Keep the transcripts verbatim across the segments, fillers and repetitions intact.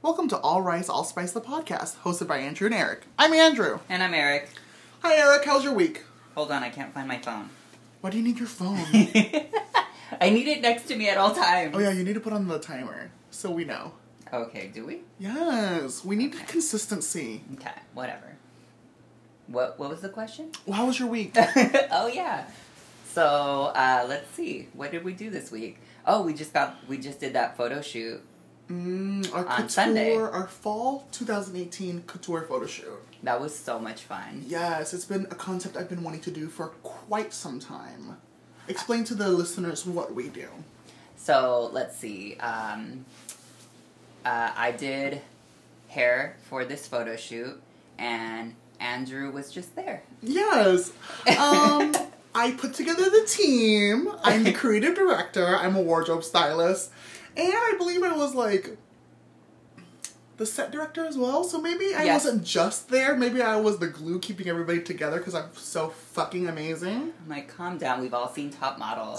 Welcome to All Rice, All Spice, the podcast, hosted by Andrew and Eric. I'm Andrew. And I'm Eric. Hi, Eric. How's your week? Hold on, I can't find my phone. Why do you need your phone? I need it next to me at all times. Oh, yeah, you need to put on the timer, so we know. Okay, do we? Yes, we need Okay. consistency. Okay, whatever. What What was the question? Well, how was your week? Oh, yeah. So, uh, let's see. What did we do this week? Oh, we just got, we just did that photo shoot. Mm, our On couture, Sunday. our fall twenty eighteen couture photo shoot. That was so much fun. Yes, it's been a concept I've been wanting to do for quite some time. Explain to the listeners what we do. So, let's see. Um, uh, I did hair for this photo shoot, and Andrew was just there. Yes. Um, I put together the team. I'm the creative director. I'm a wardrobe stylist. And I believe I was like the set director as well. So maybe I Yes. wasn't just there. Maybe I was the glue keeping everybody together because I'm so fucking amazing. I'm like, calm down. We've all seen Top Model.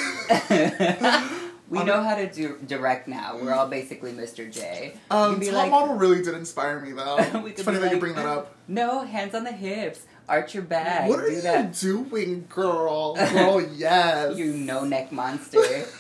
We know how to do direct now. We're all basically Mister J. We Um, could be Top like, Model really did inspire me though. We It's could funny be that you like, bring that up. No, hands on the hips. Arch your back. What are do you that. doing, girl? Girl, yes. You no-neck monster.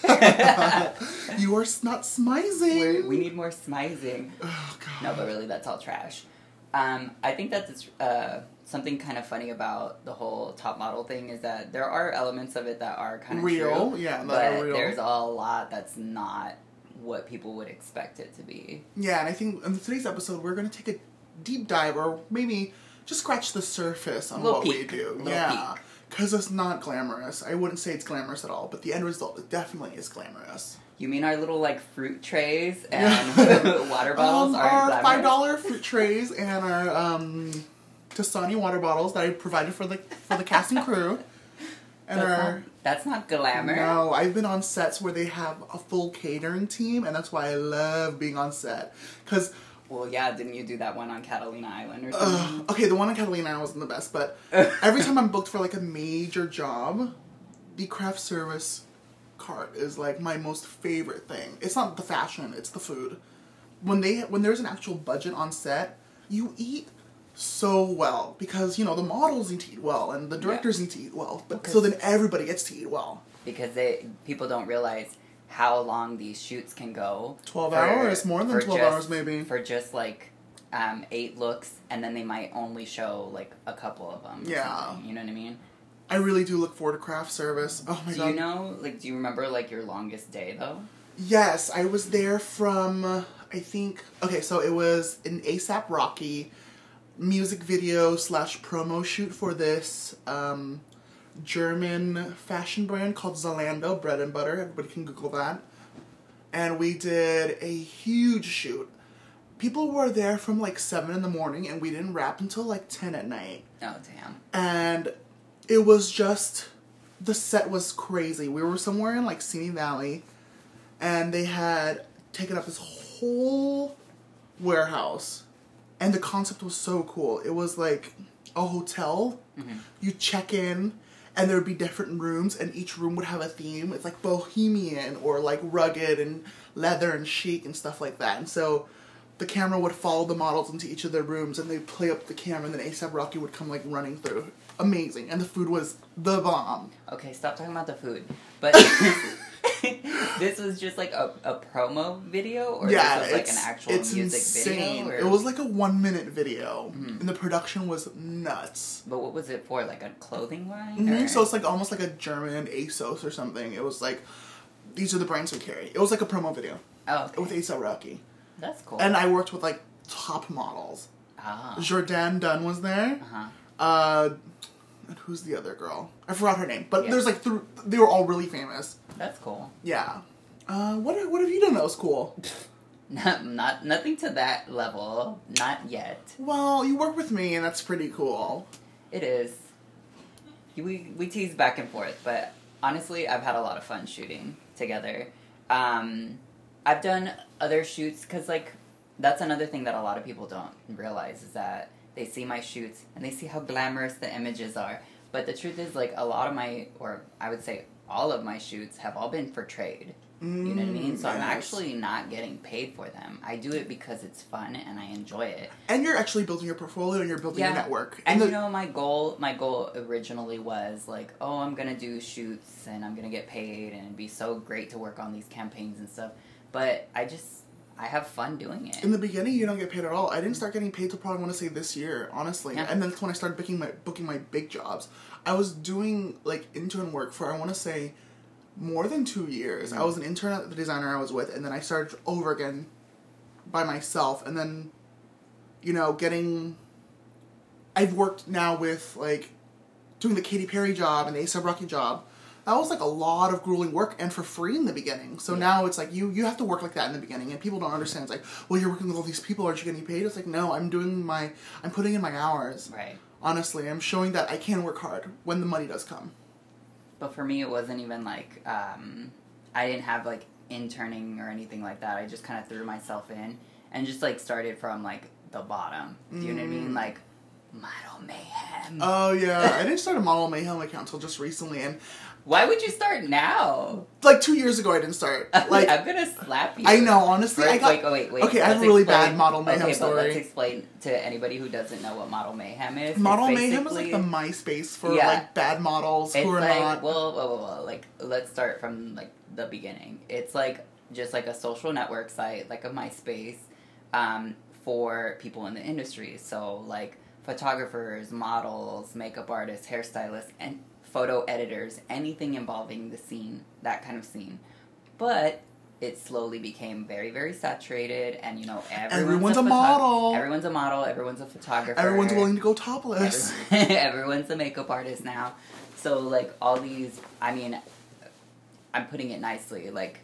You are s- not smizing. We're, we need more smizing. Oh, God. No, but really, that's all trash. Um, I think that's uh, something kind of funny about the whole Top Model thing is that there are elements of it that are kind of Real, true, yeah, that but are real. there's a lot that's not what people would expect it to be. Yeah, and I think in today's episode we're going to take a deep dive, or maybe just scratch the surface on Little what peek. we do. Little Yeah, peek. because it's not glamorous. I wouldn't say it's glamorous at all, but the end result it definitely is glamorous. You mean our little like fruit trays and water bottles um, aren't our glamorous? five dollar fruit trays and our um, Dasani water bottles that I provided for the for the cast and crew, and That's our. not, that's not glamour. No, I've been on sets where they have a full catering team, and that's why I love being on set. Because, Well, yeah, didn't you do that one on Catalina Island or something? uh, okay, the one in Catalina wasn't the best, but every time I'm booked for like a major job, the craft service cart is like my most favorite thing. It's not the fashion, it's the food. When they when there's an actual budget on set, you eat so well because you know the models need to eat well and the directors Yeah. need to eat well, but Okay. so then everybody gets to eat well. Because they people don't realize how long these shoots can go. Twelve for- hours, more than for twelve just- hours, maybe. For just like um, eight looks, and then they might only show like a couple of them. or Yeah. something, you know what I mean? I really do look forward to craft service. Oh my do god. you know? Like, do you remember like your longest day though? Yes, I was there from, uh, I think, okay, so it was an ASAP Rocky music video slash promo shoot for this um, German fashion brand called Zalando, bread and butter. Everybody can Google that. And we did a huge shoot. People were there from like seven in the morning and we didn't wrap until like ten at night. Oh damn! And it was just, the set was crazy. We were somewhere in like Simi Valley, and they had taken up this whole warehouse, and the concept was so cool. It was like a hotel. Mm-hmm. You check in, and there would be different rooms, and each room would have a theme. It's like bohemian, or like rugged, and leather, and chic, and stuff like that. And so the camera would follow the models into each of their rooms, and they'd play up the camera, and then ASAP Rocky would come like running through. Amazing. And the food was the bomb. Okay, stop talking about the food. But this was just like a, a promo video, or Yeah, this was like it's, an actual it's music insane. video? Or? It was like a one minute video, Mhm. and the production was nuts. But what was it for? Like a clothing line? Mhm. or- So it's like almost like a German ASOS or something. It was like, these are the brands we carry. It was like a promo video Oh, okay. with ASAP Rocky. That's cool. And I worked with like top models. ah. Jordan Dunn was there. Uh-huh. Uh, and who's the other girl? I forgot her name. But Yeah. there's like, th- they were all really famous. That's cool. Yeah. Uh, what, what have you done that was cool? Not, not nothing to that level. Not yet. Well, you work with me, and that's pretty cool. It is. We we tease back and forth, but honestly, I've had a lot of fun shooting together. Um, I've done other shoots because, like, that's another thing that a lot of people don't realize is that they see my shoots and they see how glamorous the images are. But the truth is, like, a lot of my, or I would say all of my shoots have all been for trade. You know what I mean? So yes. I'm actually not getting paid for them. I do it because it's fun and I enjoy it. And you're actually building your portfolio and you're building yeah. your network. And, and the, you know, my goal, my goal originally was like, oh, I'm gonna do shoots and I'm gonna get paid and it'd be so great to work on these campaigns and stuff. But I just, I have fun doing it. In the beginning, you don't get paid at all. I didn't start getting paid till probably, I want to say, this year, honestly. Yeah. And then that's when I started booking my booking my big jobs. I was doing, like, intern work for, I want to say, more than two years. Mm-hmm. I was an intern at the designer I was with, and then I started over again by myself. And then, you know, getting... I've worked now with, like, doing the Katy Perry job and the A$AP Rocky job. That was, like, a lot of grueling work and for free in the beginning. So yeah. now it's like, you, you have to work like that in the beginning. And people don't understand. It's like, well, you're working with all these people. Aren't you getting paid? It's like, no, I'm doing my... I'm putting in my hours. Right. Honestly, I'm showing that I can work hard when the money does come. But for me, it wasn't even, like, um, I didn't have, like, interning or anything like that. I just kind of threw myself in and just, like, started from, like, the bottom. Do you mm. know what I mean? Like, Model Mayhem. Oh, yeah. I didn't start a Model Mayhem account until just recently, and... Why would you start now? Like, two years ago, I didn't start. Like, I'm gonna slap you. I know, honestly. First, I got, wait, wait, wait. Okay, I have a really explain, bad Model Mayhem okay, story. But let's explain to anybody who doesn't know what Model Mayhem is. Model Mayhem is like the MySpace for, yeah, like, bad models it's who are like, not... Well, well, well, well, like, let's start from, like, the beginning. It's, like, just, like, a social network site, like a MySpace, um, for people in the industry. So, like, photographers, models, makeup artists, hairstylists, and... photo editors, anything involving the scene, that kind of scene. But it slowly became very, very saturated, and, you know, everyone's, everyone's a, a photo- model. Everyone's a model, everyone's a photographer. Everyone's willing to go topless. Everyone, everyone's a makeup artist now. So, like, all these, I mean, I'm putting it nicely, like,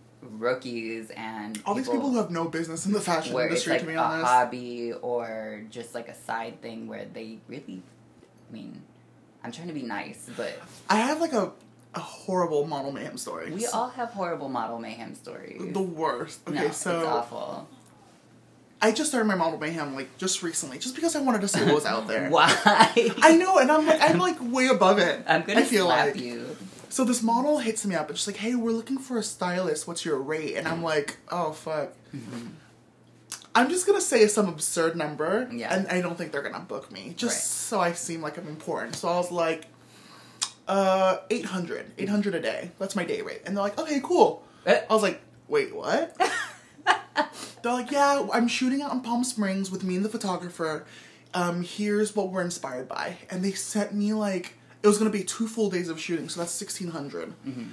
rookies and all these people who have no business in the fashion where industry, it's like to be a honest. hobby or just, like, a side thing where they really, I mean... I'm trying to be nice, but... I have, like, a, a horrible Model Mayhem story. We all have horrible Model Mayhem stories. The worst. Okay, no, so... it's awful. I just started my Model Mayhem, like, just recently, just because I wanted to see what was out there. Why? I know, and I'm, like, I'm, like, way above it. I'm gonna I feel slap like. you. So this model hits me up, and she's like, hey, we're looking for a stylist, what's your rate? And I'm like, oh, fuck. Mm-hmm. I'm just gonna say some absurd number, yeah. and I don't think they're gonna book me, just right. so I seem like I'm important. So I was like, uh, eight hundred. eight hundred a day. That's my day rate. And they're like, okay, cool. I was like, wait, what? They're like, yeah, I'm shooting out in Palm Springs with me and the photographer. Um, here's what we're inspired by. And they sent me, like, it was gonna be two full days of shooting, so that's sixteen hundred. Mm-hmm.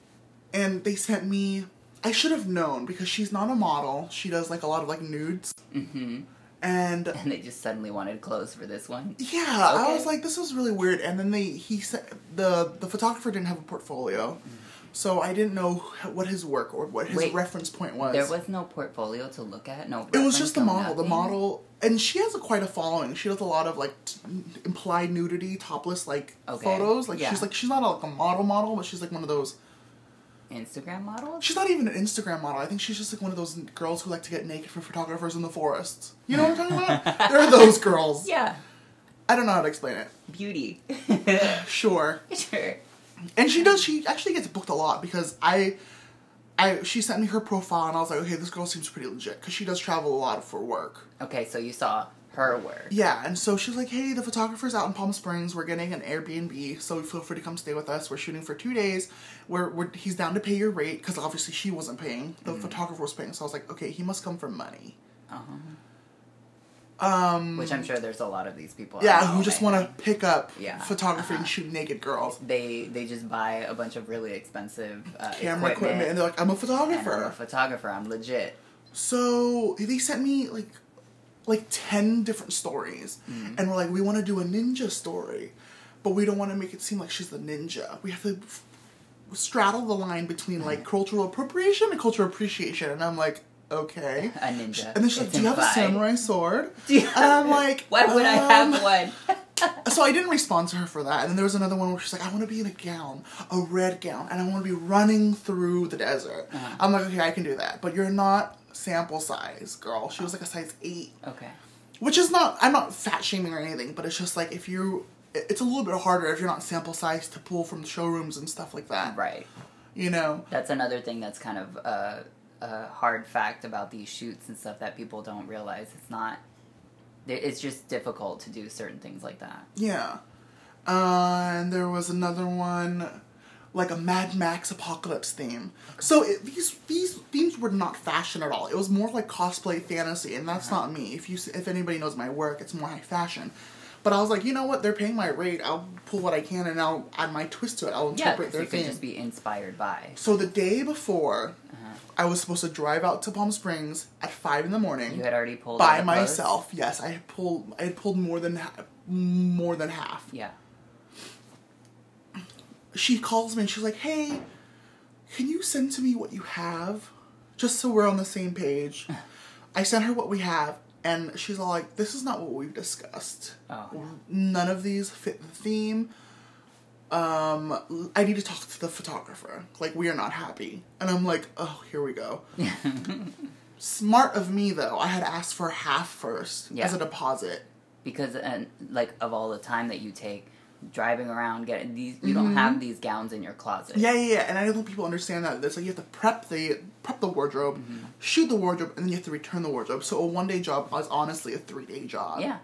And they sent me... I should have known, because she's not a model. She does, like, a lot of, like, nudes. Mm-hmm. And... And they just suddenly wanted clothes for this one? Yeah. Okay. I was like, this is really weird. And then they... He said... The, the photographer didn't have a portfolio. Mm-hmm. So I didn't know what his work or what his Wait, reference point was. There was no portfolio to look at? No It was just the no model. nothing? The model... And she has a, quite a following. She does a lot of, like, t- implied nudity, topless, like, okay. photos. Like, yeah. she's, like, she's not, a, like, a model model, but she's, like, one of those... Instagram models? She's not even an Instagram model. I think she's just like one of those girls who like to get naked for photographers in the forests. You know what I'm talking about? There are those girls. Yeah. I don't know how to explain it. Beauty. Sure. Sure. And she does, she actually gets booked a lot because I, I, she sent me her profile and I was like, okay, this girl seems pretty legit because she does travel a lot for work. Okay, so you saw her work. Yeah, and so she was like, hey, the photographer's out in Palm Springs. We're getting an Airbnb, so feel free to come stay with us. We're shooting for two days. We're, we're he's down to pay your rate, because obviously she wasn't paying. The mm-hmm. photographer was paying, so I was like, okay, he must come for money. Uh-huh. Um, Which I'm sure there's a lot of these people. Yeah, who just want to pick up yeah. photography uh-huh. and shoot naked girls. They they just buy a bunch of really expensive uh, camera equipment, equipment, and they're like, I'm a photographer. And I'm a photographer, I'm legit. So, they sent me, like, like ten different stories, mm-hmm. and we're like, we want to do a ninja story, but we don't want to make it seem like she's the ninja. We have to f- straddle the line between, like, cultural appropriation and cultural appreciation, and I'm like, okay. A ninja. And then she's like, do you have a samurai sword? You- and I'm like, why would um... I have one? So I didn't respond to her for that, and then there was another one where she's like, I want to be in a gown, a red gown, and I want to be running through the desert. Uh-huh. I'm like, okay, I can do that, but you're not sample size, girl. She was like a size eight. Okay. Which is not, I'm not fat shaming or anything, but it's just like if you, it's a little bit harder if you're not sample size to pull from the showrooms and stuff like that. Right. You know? That's another thing that's kind of a, a hard fact about these shoots and stuff that people don't realize. It's not... It's just difficult to do certain things like that. Yeah. Uh, and there was another one, like a Mad Max apocalypse theme. Okay. So it, these these themes were not fashion at all. It was more like cosplay fantasy, and that's uh-huh. not me. If you if anybody knows my work, it's more high fashion. But I was like, you know what? They're paying my rate. I'll pull what I can, and I'll add my twist to it. I'll interpret yeah, their you theme. Yeah, could just be inspired by. So the day before, uh-huh. I was supposed to drive out to Palm Springs at five in the morning. You had already pulled by myself. Yes, I had pulled. I had pulled more than ha- more than half. Yeah. She calls me and she's like, "Hey, can you send to me what you have, just so we're on the same page?" I sent her what we have, and she's all like, "This is not what we've discussed. Oh. None of these fit the theme. Um, I need to talk to the photographer. Like, we are not happy." And I'm like, "Oh, here we go." Smart of me, though. I had asked for half first yeah. as a deposit because, and like, of all the time that you take driving around getting these, you mm-hmm. don't have these gowns in your closet. Yeah, yeah, yeah. And I don't think people understand that. It's like you have to prep the prep the wardrobe, mm-hmm. shoot the wardrobe, and then you have to return the wardrobe. So a one day job was honestly a three day job. Yeah.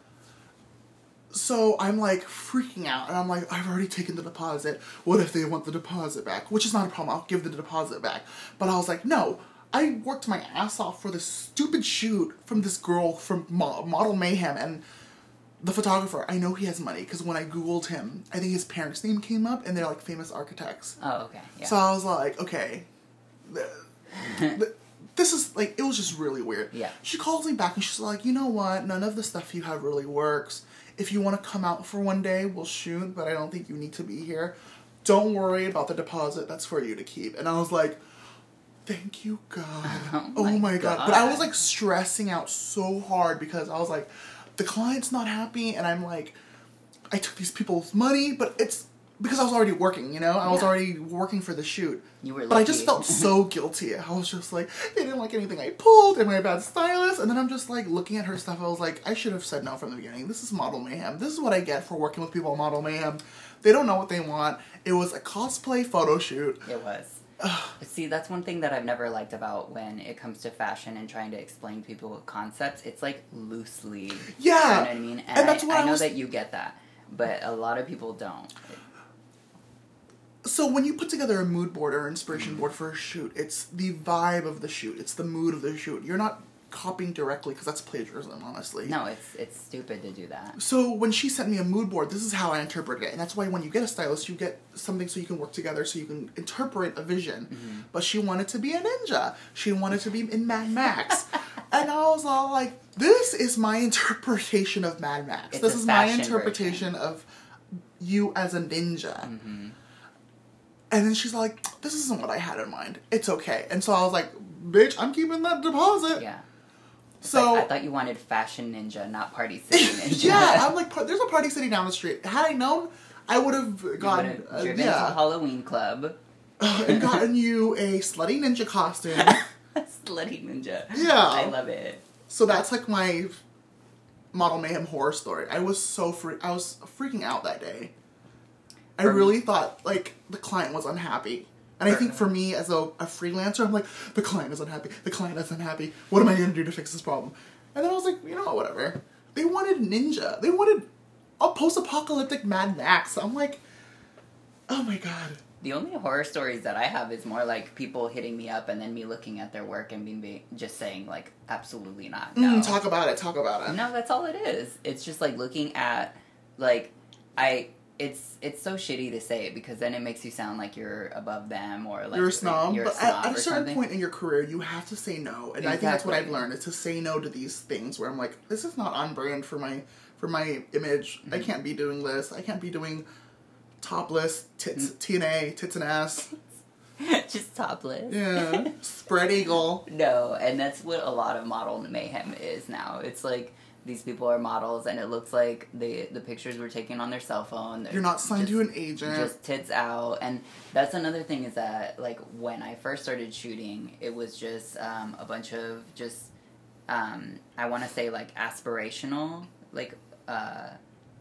So I'm like freaking out, and I'm like, I've already taken the deposit. What if they want the deposit back? Which is not a problem. I'll give the deposit back. But I was like, no. I worked my ass off for this stupid shoot from this girl from Mo- Model Mayhem, and the photographer, I know he has money, because when I Googled him, I think his parents' name came up, and they're, like, famous architects. Oh, okay, yeah. So I was like, okay, the, the, this is, like, it was just really weird. Yeah. She calls me back, and she's like, you know what, none of the stuff you have really works. If you want to come out for one day, we'll shoot, but I don't think you need to be here. Don't worry about the deposit, that's for you to keep. And I was like, thank you, God. Oh, oh my, my God. God. But I was, like, stressing out so hard, because I was like, the client's not happy, and I'm like, I took these people's money, but it's because I was already working, you know? I yeah. was already working for the shoot. You were lucky. But I just felt so guilty. I was just like, they didn't like anything I pulled, am I a bad stylist? And then I'm just like, looking at her stuff, I was like, I should have said no from the beginning. This is Model Mayhem. This is what I get for working with people at Model Mayhem. They don't know what they want. It was a cosplay photo shoot. It was. See, that's one thing that I've never liked about when it comes to fashion and trying to explain to people concepts. It's like loosely. Yeah. You know what I mean? And, and that's I, what I, I know was... that you get that, but a lot of people don't. So when you put together a mood board or inspiration mm-hmm. board for a shoot, it's the vibe of the shoot. It's the mood of the shoot. You're not copying directly, because that's plagiarism, honestly. No, it's it's stupid to do that. So when she sent me a mood board, this is how I interpret it. And that's why when you get a stylist, you get something so you can work together, so you can interpret a vision. Mm-hmm. But she wanted to be a ninja. She wanted to be in Mad Max. And I was all like, this is my interpretation of Mad Max. It's this is my interpretation version. of you as a ninja. Mm-hmm. And then she's like, this isn't what I had in mind. It's okay. And so I was like, bitch, I'm keeping that deposit. Yeah. So like, I thought you wanted Fashion Ninja, not Party City Ninja. Yeah, I'm like, there's a Party City down the street. Had I known, I would have gotten uh, driven yeah. to Halloween Club uh, and gotten you a slutty ninja costume. Slutty ninja. Yeah, I love it. So that's like my Model Mayhem horror story. I was so free. I was freaking out that day. I For really me. thought like the client was unhappy. And I think for me, as a, a freelancer, I'm like, the client is unhappy. The client is unhappy. What am I going to do to fix this problem? And then I was like, you know, whatever. They wanted ninja. They wanted a post-apocalyptic Mad Max. I'm like, oh my God. The only horror stories that I have is more like people hitting me up and then me looking at their work and being, being just saying, like, absolutely not. No. Mm, talk about it. Talk about it. No, that's all it is. It's just, like, looking at, like, I... It's it's so shitty to say it, because then it makes you sound like you're above them, or like you're a snob. You're a but snob at, at a certain something. point in your career, you have to say no, and exactly. I think that's what I've learned is to say no to these things where I'm like, this is not on brand for my for my image. Mm-hmm. I can't be doing this. I can't be doing topless tits, mm-hmm. T N A, tits and ass. Just topless. Yeah, spread eagle. No, and that's what a lot of Model Mayhem is now. It's like, these people are models, and it looks like the the pictures were taken on their cell phone. They're You're not signed just, to an agent. Just tits out. And that's another thing, is that, like, when I first started shooting, it was just um, a bunch of just, um, I want to say, like, aspirational, like, uh,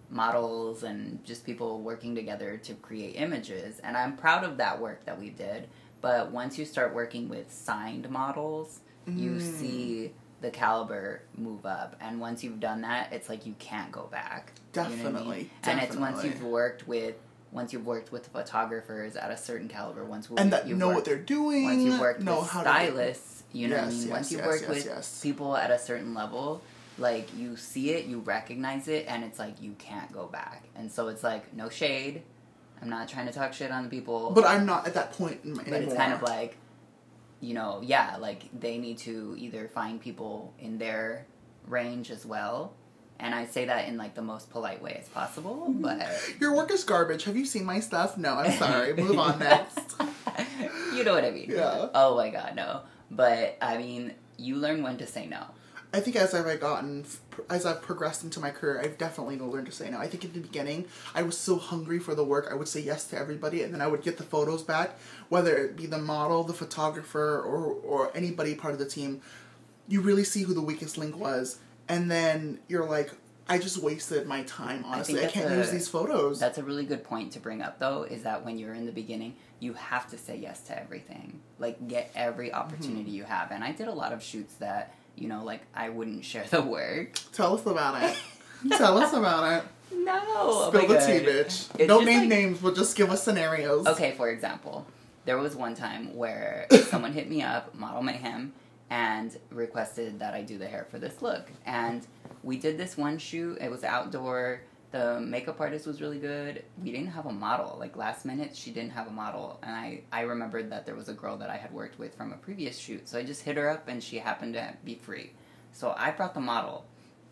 models and just people working together to create images. And I'm proud of that work that we did. But once you start working with signed models, mm. you see the caliber move up. And once you've done that, it's like you can't go back. Definitely. You know what I mean? Definitely. And it's once you've worked with once you've worked with photographers at a certain caliber, once we, and that you've know worked, what they're doing, once you've worked know with how stylists, to you know yes, what I mean? Yes, once you've yes, worked yes, with yes. people at a certain level, like, you see it, you recognize it, and it's like, you can't go back. And so it's like, no shade. I'm not trying to talk shit on the people. But I'm not at that point anymore. But it's kind of like, you know, yeah, like, they need to either find people in their range as well. And I say that in, like, the most polite way as possible, but... Your work is garbage. Have you seen my stuff? No, I'm sorry. Move on next. You know what I mean. Yeah. Oh, my God, no. But, I mean, you learn when to say no. I think as I've gotten, as I've progressed into my career, I've definitely learned to say no. I think in the beginning, I was so hungry for the work, I would say yes to everybody, and then I would get the photos back, whether it be the model, the photographer, or, or anybody part of the team. You really see who the weakest link was. And then you're like, I just wasted my time, honestly. I, I can't a, use these photos. That's a really good point to bring up, though, is that when you're in the beginning, you have to say yes to everything. Like, get every opportunity mm-hmm. you have. And I did a lot of shoots that, you know, like, I wouldn't share the work. Tell us about it. Tell us about it. No. Spill the tea, bitch. It's Don't name like, names, but just give us scenarios. Okay, for example, there was one time where someone hit me up, Model Mayhem, and requested that I do the hair for this look. And we did this one shoot. It was outdoor. The makeup artist was really good. We didn't have a model. Like, last minute, she didn't have a model. And I, I remembered that there was a girl that I had worked with from a previous shoot. So I just hit her up, and she happened to be free. So I brought the model.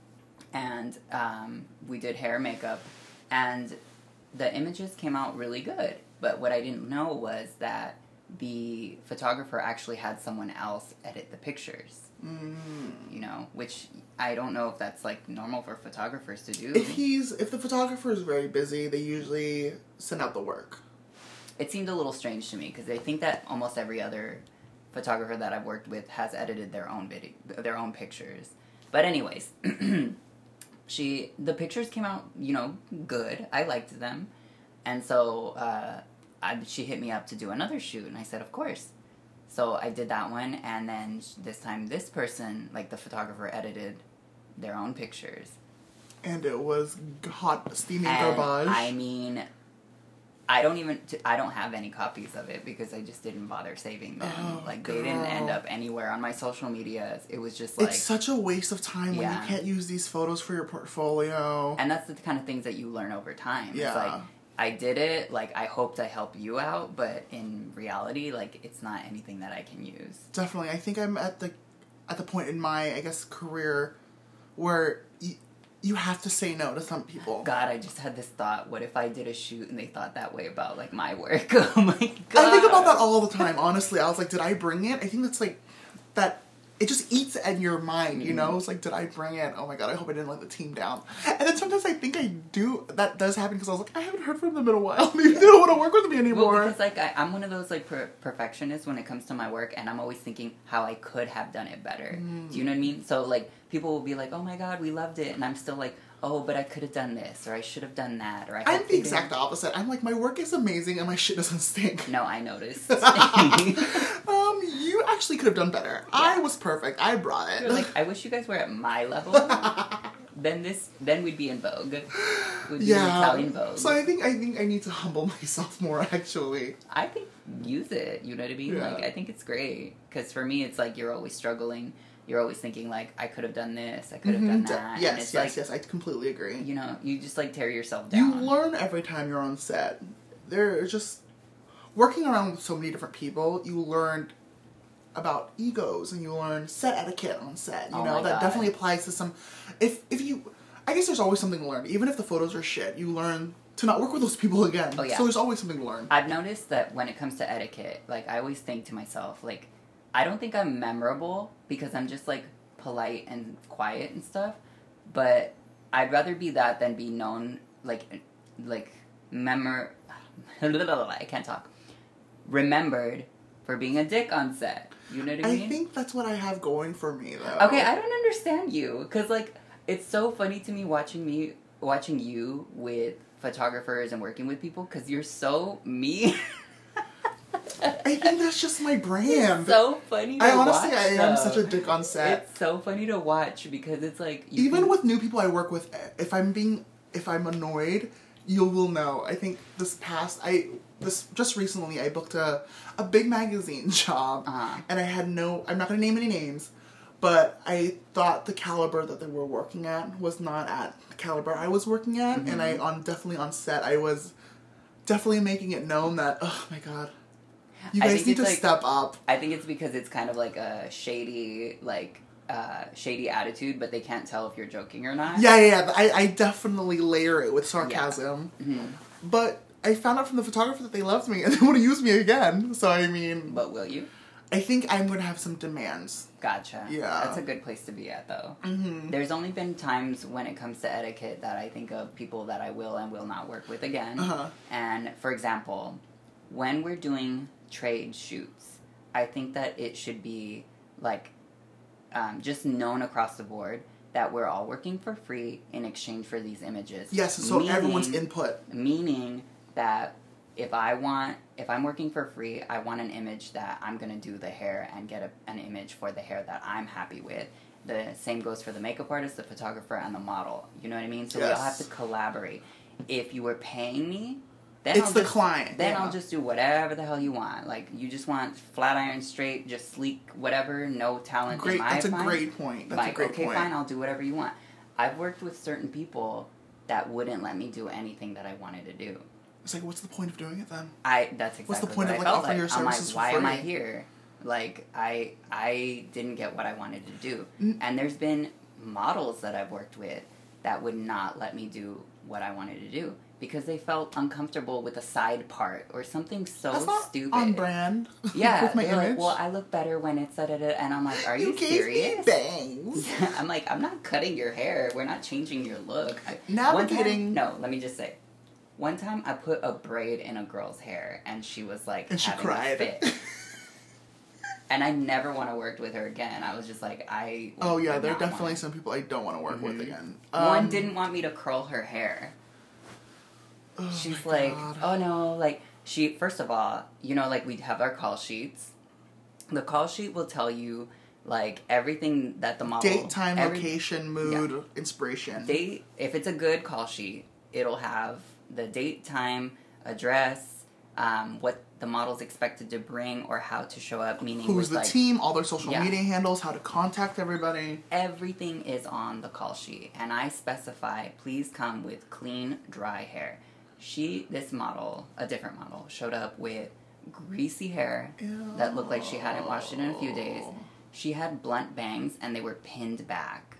And um, we did hair and makeup. And the images came out really good. But what I didn't know was that the photographer actually had someone else edit the pictures. Mm. You know, which I don't know if that's, like, normal for photographers to do. If he's, if the photographer is very busy, they usually send out the work. It seemed a little strange to me, because I think that almost every other photographer that I've worked with has edited their own video, their own pictures. But anyways, she, the pictures came out, you know, good. I liked them. And so, uh, I, she hit me up to do another shoot, and I said, of course. So I did that one, and then this time this person, like the photographer, edited their own pictures. And it was hot, steaming and garbage. I mean, I don't even, I don't have any copies of it because I just didn't bother saving them. Oh, like, girl. They didn't end up anywhere on my social media. It was just like... It's such a waste of time yeah. when you can't use these photos for your portfolio. And that's the kind of things that you learn over time. Yeah. It's like, I did it, like, I hoped I helped you out, but in reality, like, it's not anything that I can use. Definitely. I think I'm at the at the point in my, I guess, career where you, you have to say no to some people. God, I just had this thought, what if I did a shoot and they thought that way about, like, my work? Oh, my God. I think about that all the time, honestly. I was like, did I bring it? I think that's, like, that... It just eats at your mind, you know? It's like, did I bring it? Oh my God, I hope I didn't let the team down. And then sometimes I think I do, that does happen because I was like, I haven't heard from them in a while. Maybe they don't want to work with me anymore. Well, because, like, I, I'm one of those, like, per- perfectionists when it comes to my work, and I'm always thinking how I could have done it better. Mm. Do you know what I mean? So, like, people will be like, oh my God, we loved it. And I'm still like, oh, but I could have done this, or I should have done that, or I I'm the exact opposite. I'm like, my work is amazing and my shit doesn't stink. No, I noticed. um, you actually could have done better. Yeah. I was perfect. I brought it. You're like, I wish you guys were at my level. then this, then we'd be in Vogue. We'd be yeah. in Italian Vogue. So I think I think I need to humble myself more. Actually, I think use it. You know what I mean? Yeah. Like, I think it's great because for me, it's like you're always struggling. You're always thinking, like, I could have done this, I could have mm-hmm. done that. Yes, and it's yes, like, yes, I completely agree. You know, you just, like, tear yourself down. You learn every time you're on set. They're just... Working around with so many different people, you learn about egos, and you learn set etiquette on set, you oh know? My that God. definitely applies to some... If if you... I guess there's always something to learn. Even if the photos are shit, you learn to not work with those people again. Oh, yeah. So there's always something to learn. I've noticed that when it comes to etiquette, like, I always think to myself, like, I don't think I'm memorable because I'm just, like, polite and quiet and stuff, but I'd rather be that than be known, like, like, memor... I can't talk. Remembered for being a dick on set. You know what I mean? I think that's what I have going for me, though. Okay, I don't understand you, because, like, it's so funny to me watching me watching you with photographers and working with people because you're so me. I think that's just my brand. It's so funny to I honestly, watch, I am though. such a dick on set. It's so funny to watch because it's like... You Even can, with new people I work with, if I'm being... If I'm annoyed, you will know. I think this past... I this Just recently, I booked a, a big magazine job. Uh-huh. And I had no... I'm not going to name any names. But I thought the caliber that they were working at was not at the caliber I was working at. Mm-hmm. And I on definitely on set, I was definitely making it known that, oh my god... You guys need to like, step up. I think it's because it's kind of like a shady, like, uh, shady attitude, but they can't tell if you're joking or not. Yeah, yeah, yeah. I, I definitely layer it with sarcasm. Yeah. Mm-hmm. But I found out from the photographer that they loved me and they want to use me again. So, I mean... But will you? I think I'm going to have some demands. Gotcha. Yeah. That's a good place to be at, though. Mm-hmm. There's only been times when it comes to etiquette that I think of people that I will and will not work with again. Uh-huh. And, for example, when we're doing... trade shoots, I think that it should be like um, just known across the board that we're all working for free in exchange for these images. Yes, so meaning, everyone's input. Meaning that if I want, if I'm working for free, I want an image that I'm going to do the hair and get a, an image for the hair that I'm happy with. The same goes for the makeup artist, the photographer, and the model. You know what I mean? So yes. we all have to collaborate. If you were paying me, Then it's I'll the just, client. Then yeah. I'll just do whatever the hell you want. Like, you just want flat iron, straight, just sleek, whatever, no talent Great. in my That's a mind. great point. That's like, a great okay, point. fine, I'll do whatever you want. I've worked with certain people that wouldn't let me do anything that I wanted to do. It's like, what's the point of doing it then? I That's exactly What's the point what of I like felt offering like. your services I'm like, for why free? am I here? Like, I I didn't get what I wanted to do. Mm. And there's been models that I've worked with that would not let me do what I wanted to do because they felt uncomfortable with a side part or something so That's not stupid. on brand. Yeah, with my they're image. like, well, I look better when it's da da da, and I'm like, are you, you gave serious? me bangs. I'm like, I'm not cutting your hair. We're not changing your look. I, Navigating. One time, no, let me just say. One time, I put a braid in a girl's hair, and she was like, and she having cried. a fit. And I never want to work with her again. I was just like, I. Oh yeah, there are not definitely wanna. some people I don't want to work Mm-hmm. with again. One Um, didn't want me to curl her hair. oh She's my like, God. oh no, like, she, first of all, you know, like, we have our call sheets. The call sheet will tell you, like, everything that the model... Date, time, every, location, mood, inspiration. Date, if it's a good call sheet, it'll have the date, time, address, um, what the model's expected to bring or how to show up, meaning Who's with, the like, team, all their social yeah. media handles, how to contact everybody. everything is on the call sheet, and I specify, please come with clean, dry hair. She, this model, a different model, showed up with greasy hair Ew. that looked like she hadn't washed it in a few days. She had blunt bangs, and they were pinned back.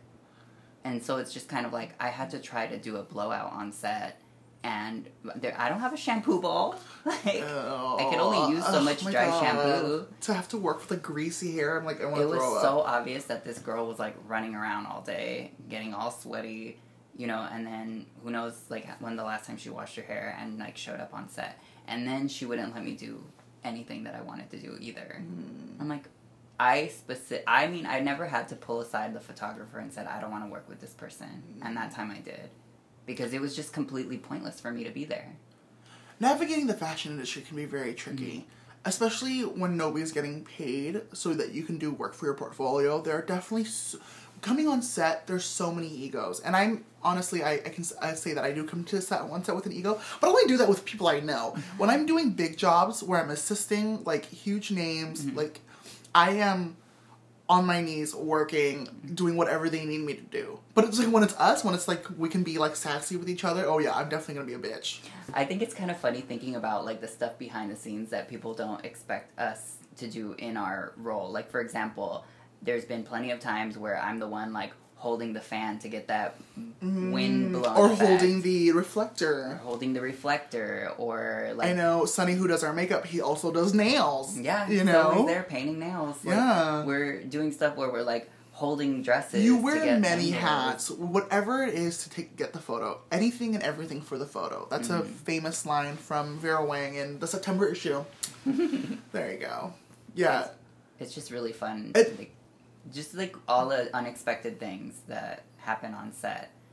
And so it's just kind of like, I had to try to do a blowout on set, and there, I don't have a shampoo bowl. Like, Oh, I can only use so oh much my dry God. shampoo. To have to work with the greasy hair, I'm like, I want It to was throw so up. obvious that this girl was like running around all day, getting all sweaty, you know, and then who knows like when the last time she washed her hair and like showed up on set. And then she wouldn't let me do anything that I wanted to do either. Mm. I'm like, I specific. I mean, I never had to pull aside the photographer and said I don't want to work with this person, mm. and that time I did, because it was just completely pointless for me to be there. Navigating the fashion industry can be very tricky. Mm-hmm. Especially when nobody's getting paid so that you can do work for your portfolio. There are definitely... So, coming on set, there's so many egos. And I'm... Honestly, I, I can I say that I do come to set one set with an ego. But I only do that with people I know. Mm-hmm. When I'm doing big jobs where I'm assisting, like, huge names, mm-hmm. like, I am on my knees working, doing whatever they need me to do. But it's like when it's us, when it's like we can be like sassy with each other, oh yeah, I'm definitely gonna be a bitch. I think it's kind of funny thinking about like the stuff behind the scenes that people don't expect us to do in our role. Like, for example, there's been plenty of times where I'm the one like holding the fan to get that mm, wind blown or effect. holding the reflector, or holding the reflector, or like I know Sonny, who does our makeup, he also does nails. Yeah, you he's know, always there painting nails. Like, yeah, we're doing stuff where we're like holding dresses. You wear to get many angles. hats, whatever it is to take get the photo. Anything and everything for the photo. That's mm-hmm. a famous line from Vera Wang in the September issue. There you go. Yeah, it's, it's just really fun. It, like, just like all the unexpected things that happen on set.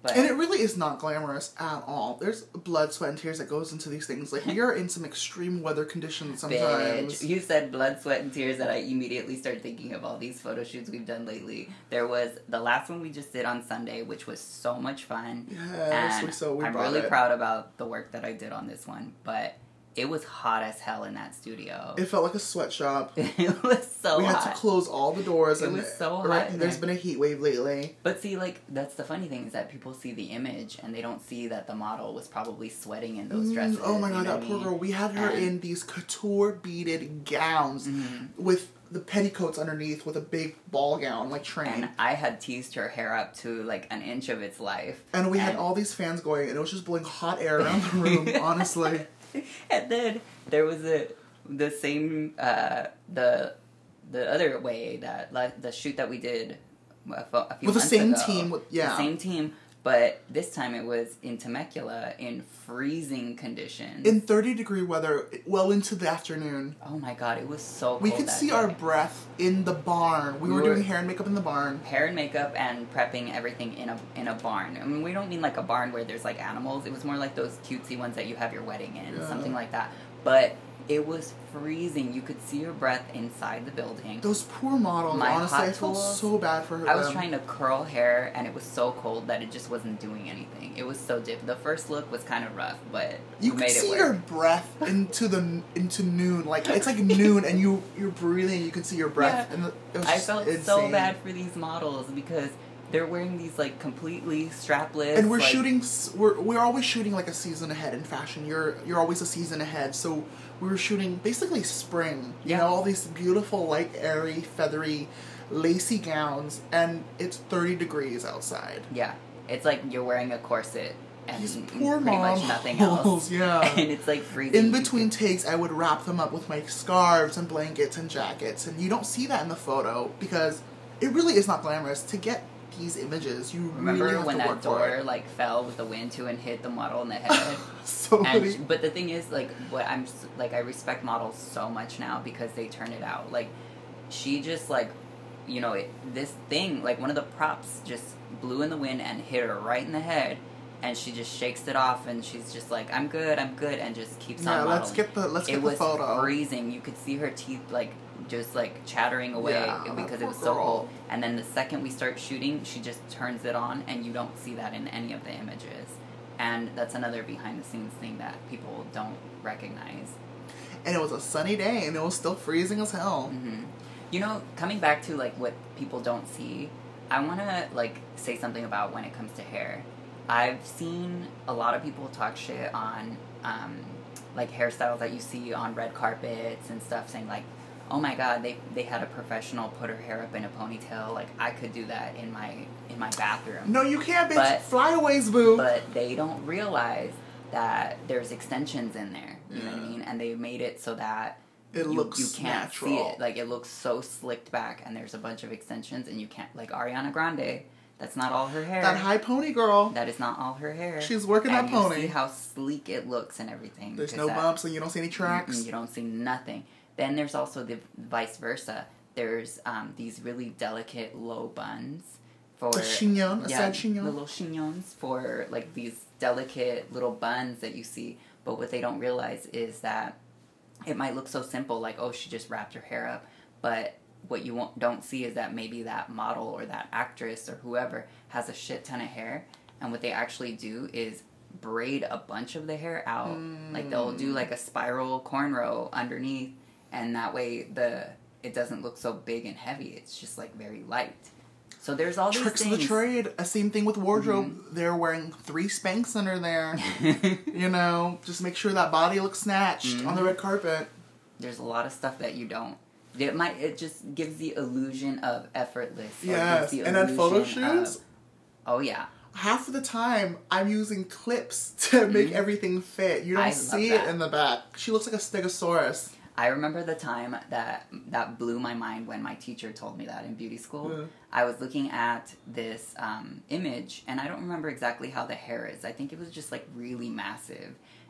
But and it really is not glamorous at all. There's blood, sweat, and tears that goes into these things. Like, we are in some extreme weather conditions sometimes. Bitch, you said blood, sweat, and tears that I immediately started thinking of all these photo shoots we've done lately. There was the last one we just did on Sunday, which was so much fun. Yes, and we so we I'm brought really it. proud about the work that I did on this one, but it was hot as hell in that studio. It felt like a sweatshop. It was so we hot. had to close all the doors. It and was so hot right, in There's there. been a heat wave lately. But see, like, that's the funny thing is that people see the image and they don't see that the model was probably sweating in those dresses. Mm, oh my you god, know that what I poor mean? girl. We had her And- in these couture beaded gowns Mhm. with the petticoats underneath with a big ball gown, like train. And I had teased her hair up to like an inch of its life. And we had all these fans going, and it was just blowing hot air around the room, honestly. And then there was a the same uh, the the other way that like, the shoot that we did a, fo- a few With the months same ago. team, with- yeah. the same team. But this time it was in Temecula in freezing conditions. In thirty degree weather, well into the afternoon. Oh my god, it was so cold. We could that see day. our breath in the barn. We, We were, were- doing hair and makeup in the barn. hair and makeup and prepping everything in a in a barn. I mean, we don't mean like a barn where there's like animals. It was more like those cutesy ones that you have your wedding in, Yeah. something like that. But it was freezing. You could see your breath inside the building. Those poor models, My honestly, hot I felt tools, so bad for her. I was them. trying to curl hair, and it was so cold that it just wasn't doing anything. It was so dip. The first look was kind of rough, but You we could made see it work. your breath into the into noon. Like it's like noon, and you you're breathing. You can see your breath. Yeah. And it was I just felt insane. so bad for these models because they're wearing these like completely strapless. And we're like, shooting. s- We're we're always shooting like a season ahead in fashion. You're you're always a season ahead. So we were shooting basically spring. You Yeah. know, all these beautiful, light, airy, feathery, lacy gowns, and it's thirty degrees outside. Yeah, it's like you're wearing a corset and These poor pretty much models, nothing else. yeah. And it's like freezing. In between takes, I would wrap them up with my scarves and blankets and jackets, and you don't see that in the photo because it really is not glamorous. To get these images, you Remember really have when to that work door for it. like fell with the wind to and hit the model in the head? So And many. sh- but the thing is, like, what I'm s- like, I respect models so much now because they turn it out. Like, she just like, you know, it, this thing, like one of the props just blew in the wind and hit her right in the head, and she just shakes it off and she's just like, "I'm good, I'm good," and just keeps Yeah, on. let's modeling. get the let's It get the was photo. freezing. You could see her teeth like just like chattering away Yeah, because that it was poor so girl. cold. And then the second we start shooting, she just turns it on, and you don't see that in any of the images. And that's another behind the scenes thing that people don't recognize. And it was a sunny day, and it was still freezing as hell. hmm You know, coming back to like what people don't see, I want to like say something about when it comes to hair. I've seen a lot of people talk shit on um, like hairstyles that you see on red carpets and stuff, saying like, "Oh my God, they they had a professional put her hair up in a ponytail. Like I could do that in my in my bathroom." No, you can't, bitch. But- Flyaways, boo. But they don't realize that there's extensions in there. You know what I Yeah. mean? And they made it so that It you, looks you can't natural. see it. Like it looks so slicked back, and there's a bunch of extensions, and you can't. Like Ariana Grande, that's not all her hair. That high pony girl. That is not all her hair. She's working and that you pony. see how sleek it looks and everything. There's 'cause no that- bumps, and you don't see any tracks. Mm-mm, you don't see nothing. Then there's also the vice versa. There's um, these really delicate low buns for A chignon, a yeah, sad chignon. the little chignons for like these delicate little buns that you see. But what they don't realize is that it might look so simple, like oh she just wrapped her hair up, but what you won't, don't see is that maybe that model or that actress or whoever has a shit ton of hair, and what they actually do is braid a bunch of the hair out. Like they'll do like a spiral cornrow underneath, and that way the it doesn't look so big and heavy. It's just like very light. So there's all Tricks these of the things. trade. A same thing with wardrobe. Mm-hmm. They're wearing three Spanx under there. You know, just make sure that body looks snatched on the Mm-hmm. red carpet. There's a lot of stuff that you don't. It might. It just gives the illusion of effortless. or Yes, gives the and then photo illusion of- shoots. oh yeah. Half of the time, I'm using clips to make Mhm. everything fit. You don't I love see that. it in the back. She looks like a stegosaurus. I remember the time that that blew my mind when my teacher told me that in beauty school. Yeah. I was looking at this um, image, and I don't remember exactly how the hair is. I think it was just like really massive,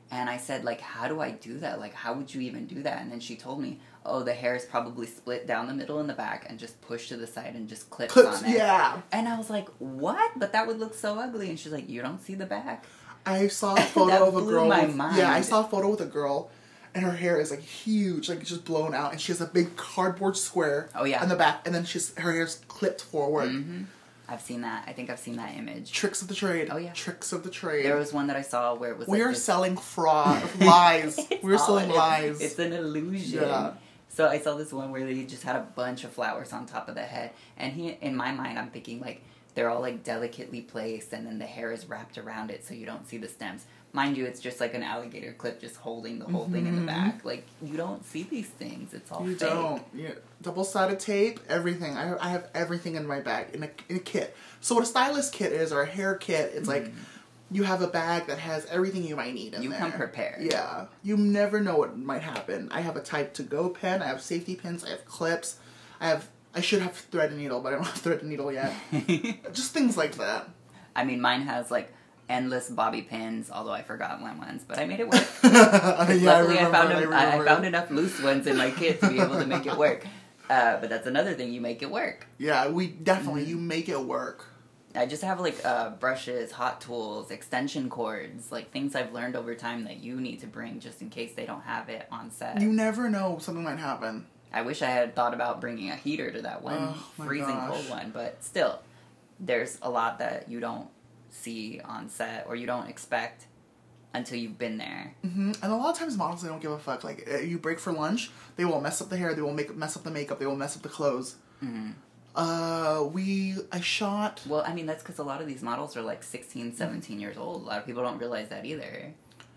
And I said, like, how do I do that? Like, how would you even do that? And then she told me, oh, the hair is probably split down the middle and the back and just pushed to the side and just clips, Clips, on it. yeah. And I was like, what? But that would look so ugly. And she's like, you don't see the back? I saw a photo That of a blew girl. my with, mind. Yeah, I saw a photo with a girl, and her hair is like huge, like just blown out, and she has a big cardboard square. Oh, yeah. On the back, and then she's her hair's clipped forward. Mm-hmm. I've seen that. I think I've seen that image. Tricks of the trade. Oh, yeah. Tricks of the trade. There was one that I saw where it was we like are this... selling fraud, lies. It's We're all- selling it's- lies. It's an illusion. Yeah. So I saw this one where they just had a bunch of flowers on top of the head. And he, in my mind, I'm thinking, like, they're all, like, delicately placed, and then the hair is wrapped around it so you don't see the stems. Mind you, it's just like an alligator clip just holding the whole mm-hmm. thing in the back. Like, you don't see these things. It's all you fake. don't. Yeah. Double-sided tape, everything. I, I have everything in my bag, in a, in a kit. So what a stylist kit is, or a hair kit, it's mm-hmm. like, you have a bag that has everything you might need in you there. come prepared. Yeah. You never know what might happen. I have a type to go pen, I have safety pins, I have clips, I have, I should have thread and needle, but I don't have thread and needle yet. Just things like that. I mean, mine has, like, endless bobby pins, although I forgot one once, but I made it work. yeah, luckily, I, I, found I, a, I, I found enough loose ones in my kit to be able to make it work. Uh, but that's another thing, you make it work. Yeah, we definitely, mm-hmm. you make it work. I just have, like, uh, brushes, hot tools, extension cords, like, things I've learned over time that you need to bring just in case they don't have it on set. You never know, something might happen. I wish I had thought about bringing a heater to that one oh, freezing gosh. cold one, but still, there's a lot that you don't see on set or you don't expect until you've been there. Mm-hmm. And a lot of times models, they don't give a fuck. Like, uh, you break for lunch, they will mess up the hair, they will make mess up the makeup, they will mess up the clothes. Mm-hmm. Uh, we, I shot... Well, I mean, that's because a lot of these models are like sixteen, seventeen years old. A lot of people don't realize that either.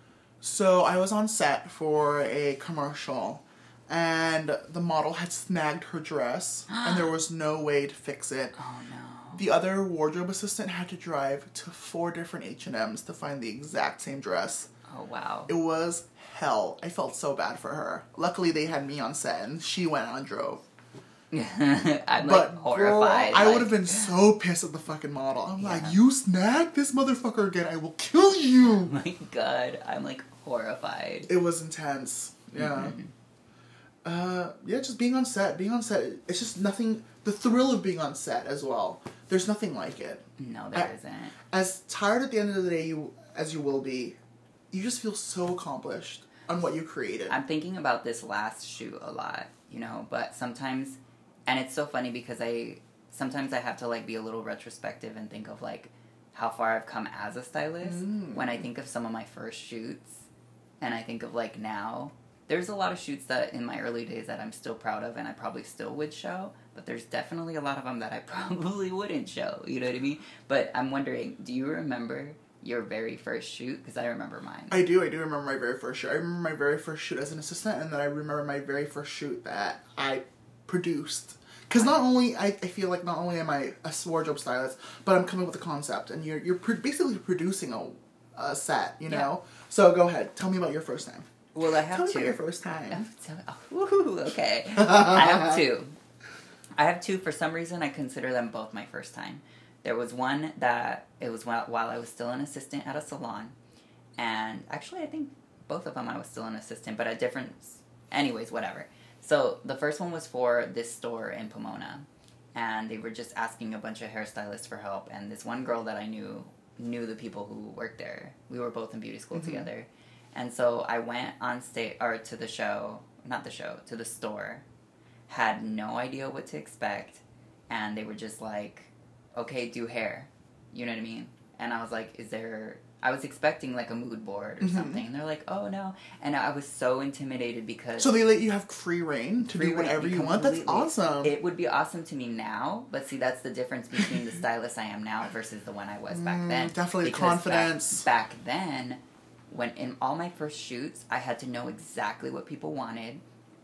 So, I was on set for a commercial, and the model had snagged her dress, and there was no way to fix it. Oh, no. The other wardrobe assistant had to drive to four different H and M's to find the exact same dress. Oh, wow. It was hell. I felt so bad for her. Luckily, they had me on set, and she went out and drove. I'm, but, like, horrified. Girl, I like... would have been so pissed at the fucking model. I'm yeah. like, you snagged this motherfucker again, I will kill you! Oh my god, I'm, like, horrified. It was intense. Yeah. Mm-hmm. Uh, yeah, just being on set. Being on set, it's just nothing... The thrill of being on set as well. There's nothing like it. No, there I, isn't. As tired at the end of the day you as you will be, you just feel so accomplished on what you created. I'm thinking about this last shoot a lot, you know, but sometimes... And it's so funny because I, sometimes I have to, like, be a little retrospective and think of, like, how far I've come as a stylist. Mm. When I think of some of my first shoots, and I think of, like, now, there's a lot of shoots that in my early days that I'm still proud of and I probably still would show, but there's definitely a lot of them that I probably wouldn't show, you know what I mean? But I'm wondering, do you remember your very first shoot? Because I remember mine. I do, I do remember my very first shoot. I remember my very first shoot as an assistant, and then I remember my very first shoot that I produced. Because not only, I, I feel like not only am I a wardrobe stylist, but I'm coming with a concept, and you're you're pro- basically producing a, a set, you know? Yeah. So go ahead, tell me about your first time. Well, I have tell two. Tell me about your first time. Oh, woohoo, okay. I have two. I have two, for some reason, I consider them both my first time. There was one that, it was while, while I was still an assistant at a salon, and actually I think both of them I was still an assistant, but at different, anyways, whatever. So, the first one was for this store in Pomona, and they were just asking a bunch of hairstylists for help, and this one girl that I knew, knew the people who worked there. We were both in beauty school mm-hmm. together. And so, I went on stage, or to the show, not the show, to the store, had no idea what to expect, and they were just like, okay, do hair. You know what I mean? And I was like, is there... I was expecting, like, a mood board or mm-hmm. something. And they're like, oh, no. And I was so intimidated because... So they let you have free reign to free do whatever you want? That's awesome. It would be awesome to me now, but see, that's the difference between the stylist I am now versus the one I was back mm, then. Definitely because confidence. Back, back then, when in all my first shoots, I had to know exactly what people wanted.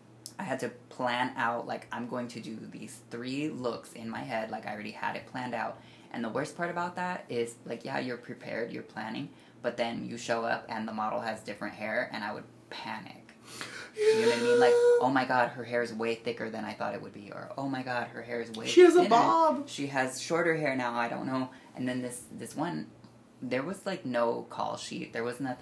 I had to plan out, like, I'm going to do these three looks in my head, like, I already had it planned out. And the worst part about that is, like, yeah, you're prepared, you're planning, but then you show up and the model has different hair, and I would panic. You know what I mean? Like, oh my god, her hair is way thicker than I thought it would be, or oh my god, her hair is way She has thinner. a bob! She has shorter hair now, I don't know. And then this, this one, there was, like, no call sheet. There was nothing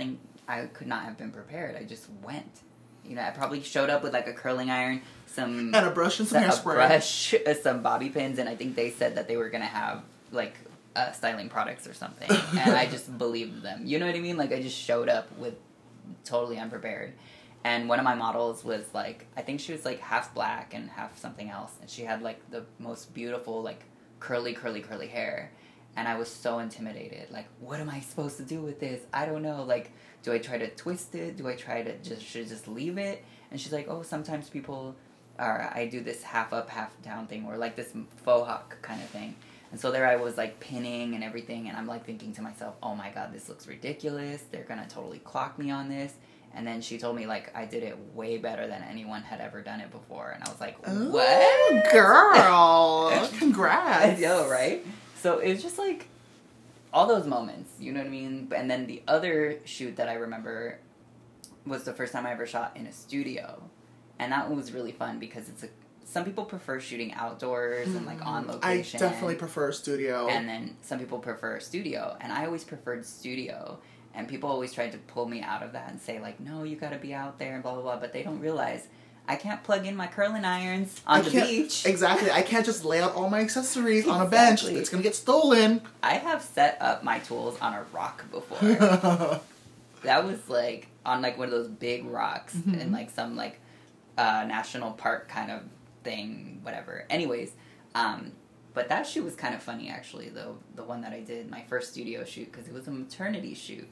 I could not have been prepared. I just went. You know, I probably showed up with like a curling iron, some and a brush and some a hairspray, brush, some bobby pins, and I think they said that they were gonna have like uh, styling products or something, and I just believed them. You know what I mean? Like I just showed up with totally unprepared. And one of my models was like, I think she was like half black and half something else, and she had like the most beautiful like curly, curly, curly hair. And I was so intimidated. Like, what am I supposed to do with this? I don't know. Like, do I try to twist it? Do I try to just should I just leave it? And she's like, oh, sometimes people are. I do this half up, half down thing, or like this faux hawk kind of thing. And so there I was like pinning and everything, and I'm like thinking to myself, oh my god, this looks ridiculous. They're gonna totally clock me on this. And then she told me, like, I did it way better than anyone had ever done it before. And I was like, what? Ooh, girl. Congrats. I know, right? So it was just, like, all those moments, you know what I mean? And then the other shoot that I remember was the first time I ever shot in a studio. And that one was really fun because it's a... Some people prefer shooting outdoors and, like, on location. I definitely prefer studio. And then some people prefer studio. And I always preferred studio. And people always tried to pull me out of that and say, like, no, you gotta be out there and blah, blah, blah. But they don't realize I can't plug in my curling irons on I the can't, beach. Exactly. I can't just lay out all my accessories Exactly. on a bench. It's gonna get stolen. I have set up my tools on a rock before. That was, like, on, like, one of those big rocks mm-hmm. in, like, some, like, uh, national park kind of thing, whatever. Anyways, um... But that shoot was kind of funny, actually, though. The one that I did, my first studio shoot, because it was a maternity shoot.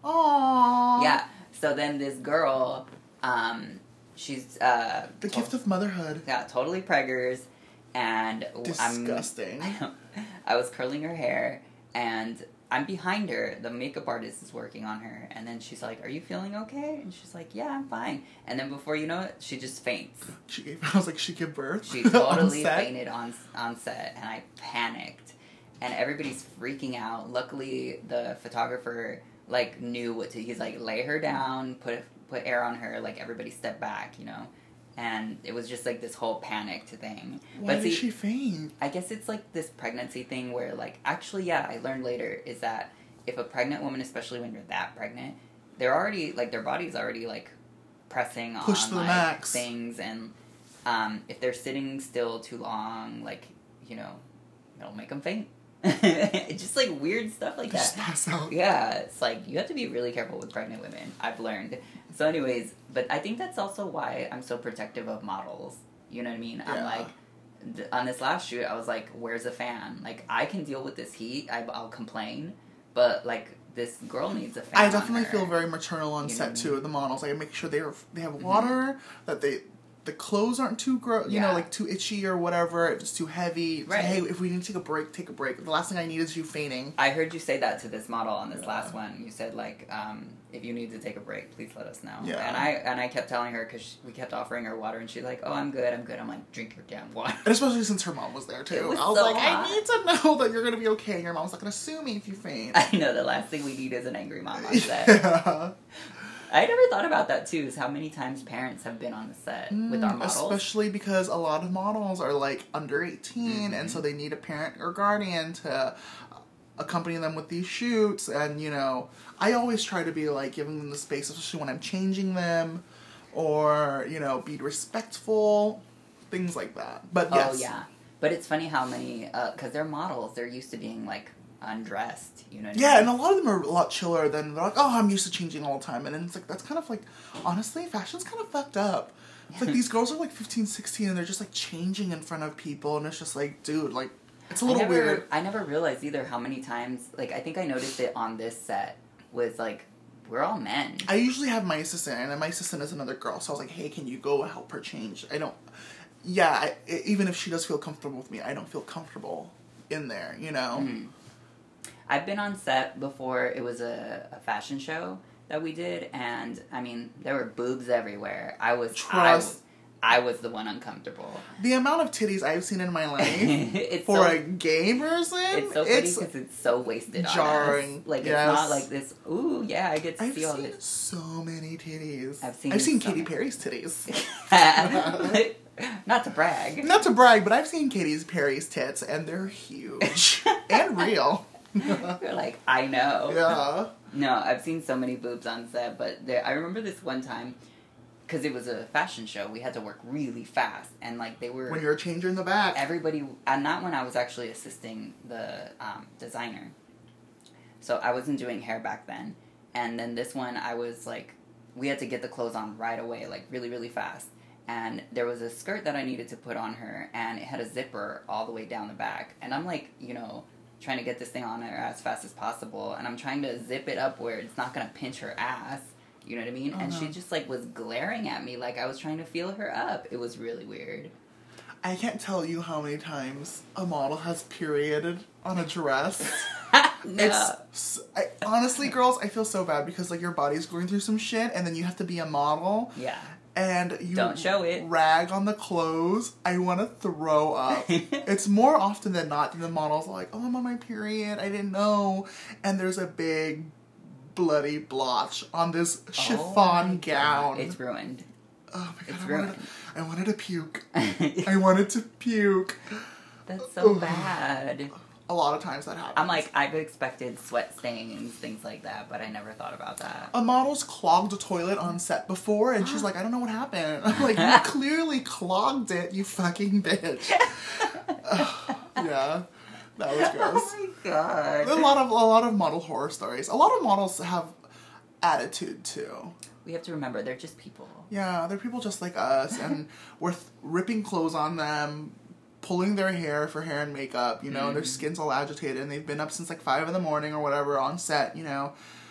Aww. Yeah. So then this girl, um, she's... Uh, the to- gift of motherhood. Yeah, totally preggers. And Disgusting. I'm... I was curling her hair, and I'm behind her. The makeup artist is working on her. And then she's like, are you feeling okay? And she's like, yeah, I'm fine. And then before you know it, she just faints. She gave, I was like, she gave birth? She totally on fainted on on set, and I panicked. And everybody's freaking out. Luckily, the photographer, like, knew what to... He's like, lay her down, put put air on her, like, everybody step back, you know? And it was just, like, this whole panicked thing. Why but did see, she faint? I guess it's, like, this pregnancy thing where, like... Actually, yeah, I learned later is that if a pregnant woman, especially when you're that pregnant, they're already... Like, their body's already, like, pressing Push on, to the like, max. things. And um, if they're sitting still too long, like, you know, it'll make them faint. It's just, like, weird stuff like that. Just pass out. Yeah, it's like, you have to be really careful with pregnant women, I've learned. So anyways, but I think that's also why I'm so protective of models. You know what I mean? Yeah. I'm like, th- on this last shoot, I was like, where's a fan? Like, I can deal with this heat, I, I'll complain, but, like, this girl needs a fan. I definitely on her. feel very maternal on You know set, what I too, mean? with the models. I make sure they are, they have water, mm-hmm. that they... The clothes aren't too gross, you Yeah. know, like too itchy or whatever. If it's too heavy. Right. Hey, if we need to take a break, take a break. The last thing I need is you fainting. I heard you say that to this model on this Yeah. last one. You said, like, um, if you need to take a break, please let us know. Yeah. And I and I kept telling her, because we kept offering her water, and she's like, oh, I'm good, I'm good. I'm like, drink your damn water. And especially since her mom was there, too. It was I was so like, hot. I need to know that you're going to be okay. Your mom's not going to sue me if you faint. I know, the last thing we need is an angry mom on set. Yeah. I never thought about that, too, is how many times parents have been on the set mm, with our models. Especially because a lot of models are, like, under eighteen, mm-hmm. and so they need a parent or guardian to accompany them with these shoots, and, you know, I always try to be, like, giving them the space, especially when I'm changing them, or, you know, be respectful, things like that. But, yes. Oh, yeah. But it's funny how many, because uh, they're models, they're used to being, like, undressed, you know what yeah, I mean? and a lot of them are a lot chiller than, they're like, oh, I'm used to changing all the time, and then it's like, that's kind of like, honestly, fashion's kind of fucked up. It's like, these girls are like fifteen, sixteen, and they're just like changing in front of people, and it's just like, dude, like, it's a little I never, weird. I never realized either how many times, like, I think I noticed it on this set, was like, we're all men. I usually have my assistant, and my assistant is another girl, so I was like, hey, can you go help her change? I don't, yeah, I, even if she does feel comfortable with me, I don't feel comfortable in there, you know? Mm-hmm. I've been on set before. It was a, a fashion show that we did, and I mean, there were boobs everywhere. I was Trust. I, I was the one uncomfortable. The amount of titties I've seen in my life it's for so, a gay person, it's so funny because it's so wasted jarring. on us. Like, yes. it's not like this, ooh, yeah, I get to I've see all seen this. so many titties. I've seen I've seen so Katy many. Perry's titties. Not to brag. Not to brag, but I've seen Katy Perry's tits, and they're huge. And real. You're like, I know. Yeah. No, I've seen so many boobs on set, but there, I remember this one time, because it was a fashion show, we had to work really fast, and like they were... When you're a changer in the back. Everybody, and not when I was actually assisting the um, designer. So I wasn't doing hair back then. And then this one, I was like, we had to get the clothes on right away, like really, really fast. And there was a skirt that I needed to put on her, and it had a zipper all the way down the back. And I'm like, you know... trying to get this thing on her as fast as possible, and I'm trying to zip it up where it's not gonna pinch her ass, you know what I mean? Uh-huh. And she just like was glaring at me like I was trying to feel her up. It was really weird. I can't tell you how many times a model has perioded on a dress. No. It's I, honestly, girls, I feel so bad because like your body's going through some shit, and then you have to be a model. Yeah. And you don't show it. Rag on the clothes. I want to throw up. It's more often than not that the models are like, "Oh, I'm on my period. I didn't know," and there's a big bloody blotch on this chiffon oh gown. God. It's ruined. Oh my god! It's I ruined. wanted, I wanted to puke. I wanted to puke. That's so bad. A lot of times that happens. I'm like, I've expected sweat stains, things like that, but I never thought about that. A model's clogged a toilet on set before, and she's like, I don't know what happened. I'm like, you clearly clogged it, you fucking bitch. uh, yeah, that was gross. Oh my god. A lot of a lot of model horror stories. A lot of models have attitude too. We have to remember, they're just people. Yeah, they're people just like us, and we're th- ripping clothes on them, pulling their hair for hair and makeup, you know, mm-hmm. Their skin's all agitated, and they've been up since like five in the morning or whatever on set, you know.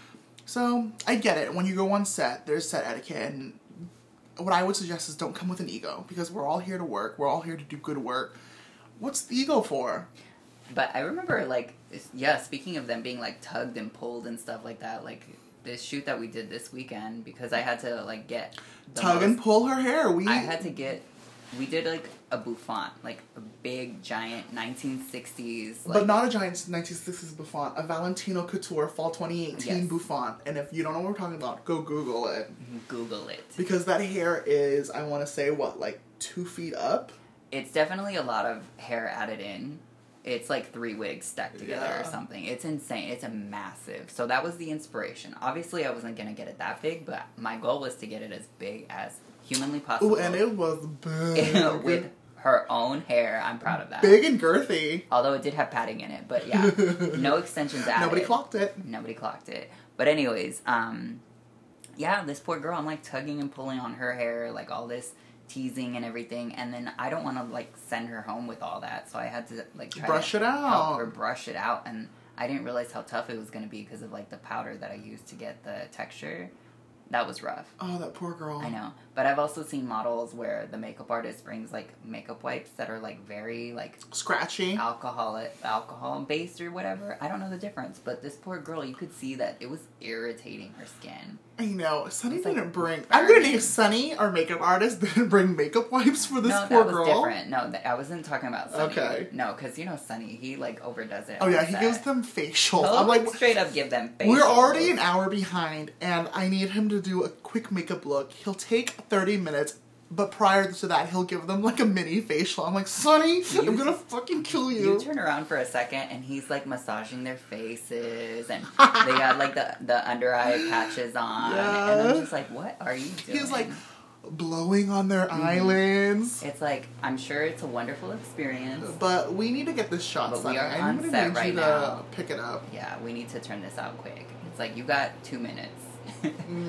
So, I get it. When you go on set, there's set etiquette, and what I would suggest is don't come with an ego, because we're all here to work, we're all here to do good work. What's the ego for? But I remember, like, yeah, speaking of them being, like, tugged and pulled and stuff like that, like, this shoot that we did this weekend, because I had to, like, get... Tug most, and pull her hair. We. I had to get... We did, like, a bouffant, like, a big, giant nineteen sixties... Like, but not a giant nineteen sixties bouffant, a Valentino Couture Fall twenty eighteen yes. bouffant. And if you don't know what we're talking about, go Google it. Google it. Because that hair is, I want to say, what, like, two feet up? It's definitely a lot of hair added in. It's like three wigs stacked together yeah. or something. It's insane. It's a massive. So that was the inspiration. Obviously, I wasn't going to get it that big, but my goal was to get it as big as humanly possible. Ooh, and it was big. With her own hair. I'm proud of that. Big and girthy. Although it did have padding in it, but yeah. No extensions added. Nobody clocked it. Nobody clocked it. But anyways, um, yeah, this poor girl, I'm like tugging and pulling on her hair, like all this teasing and everything, and then I don't want to like send her home with all that, so I had to like try brush to it out. help her brush it out, and I didn't realize how tough it was going to be because of like the powder that I used to get the texture. That was rough. Oh, that poor girl. I know. But I've also seen models where the makeup artist brings, like, makeup wipes that are, like, very, like... scratchy. Alcoholic, alcohol-based or whatever. I don't know the difference. But this poor girl, you could see that it was irritating her skin. I know. Sunny didn't like bring... Burning. I'm going to name Sunny, our makeup artist, didn't bring makeup wipes for this no, poor girl. No, that was different. No, th- I wasn't talking about Sunny. Okay. No, because, you know, Sunny, he, like, overdoes it. Oh, yeah, he set. gives them facials. He'll I'm like... straight up give them facials. We're already an hour behind, and I need him to do a quick makeup look. He'll take thirty minutes, but prior to that, he'll give them, like, a mini facial. I'm like, Sonny, you, I'm gonna fucking kill you. You turn around for a second, and he's, like, massaging their faces, and they got, like, the, the under-eye patches on, yeah. And I'm just like, what are you doing? He's, like, blowing on their mm-hmm. eyelids. It's like, I'm sure it's a wonderful experience. But we need to get this shot, But Sonny. we are I'm on set right now. Pick it up. Yeah, we need to turn this out quick. It's like, you got two minutes. mm.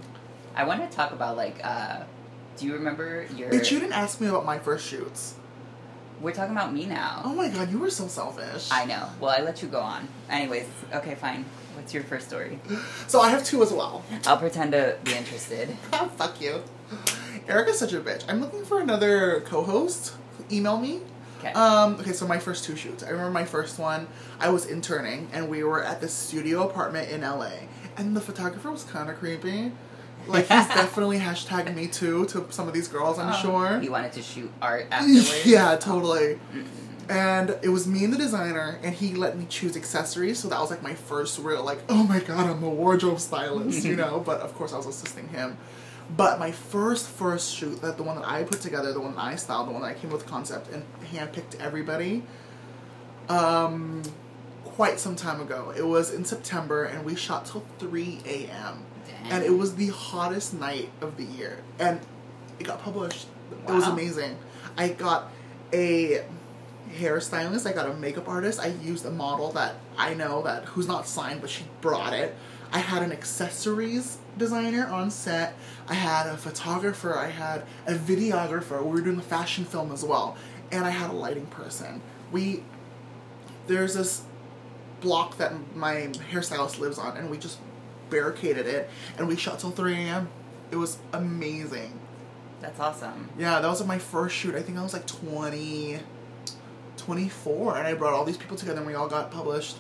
I want to talk about, like, uh, do you remember your... Bitch, you didn't ask me about my first shoots. We're talking about me now. Oh my god, you were so selfish. I know. Well, I let you go on. Anyways, okay, fine. What's your first story? So I have two as well. I'll pretend to be interested. Fuck you. Erica's such a bitch. I'm looking for another co-host. Email me. Okay. Um, okay, so my first two shoots. I remember my first one, I was interning, and we were at this studio apartment in L A. And the photographer was kind of creepy. Like, he's definitely hashtag me too to some of these girls, I'm oh, sure. He wanted to shoot art afterwards? Yeah, totally. Mm-mm. And it was me and the designer, and he let me choose accessories, so that was, like, my first real, like, oh my god, I'm a wardrobe stylist, you know? But, of course, I was assisting him. But my first, first shoot, that the one that I put together, the one that I styled, the one that I came with concept and handpicked everybody, um, quite some time ago. It was in September, and we shot till three a.m. Dang. And it was the hottest night of the year. And it got published. Wow. It was amazing. I got a hairstylist. I got a makeup artist. I used a model that I know that who's not signed, but she brought it. I had an accessories designer on set. I had a photographer. I had a videographer. We were doing a fashion film as well. And I had a lighting person. We, there's this block that my hairstylist lives on, and we just barricaded it, and we shot till three a.m. It was amazing. That's awesome. Yeah, that was my first shoot. I think I was like twenty, twenty-four, and I brought all these people together, and we all got published.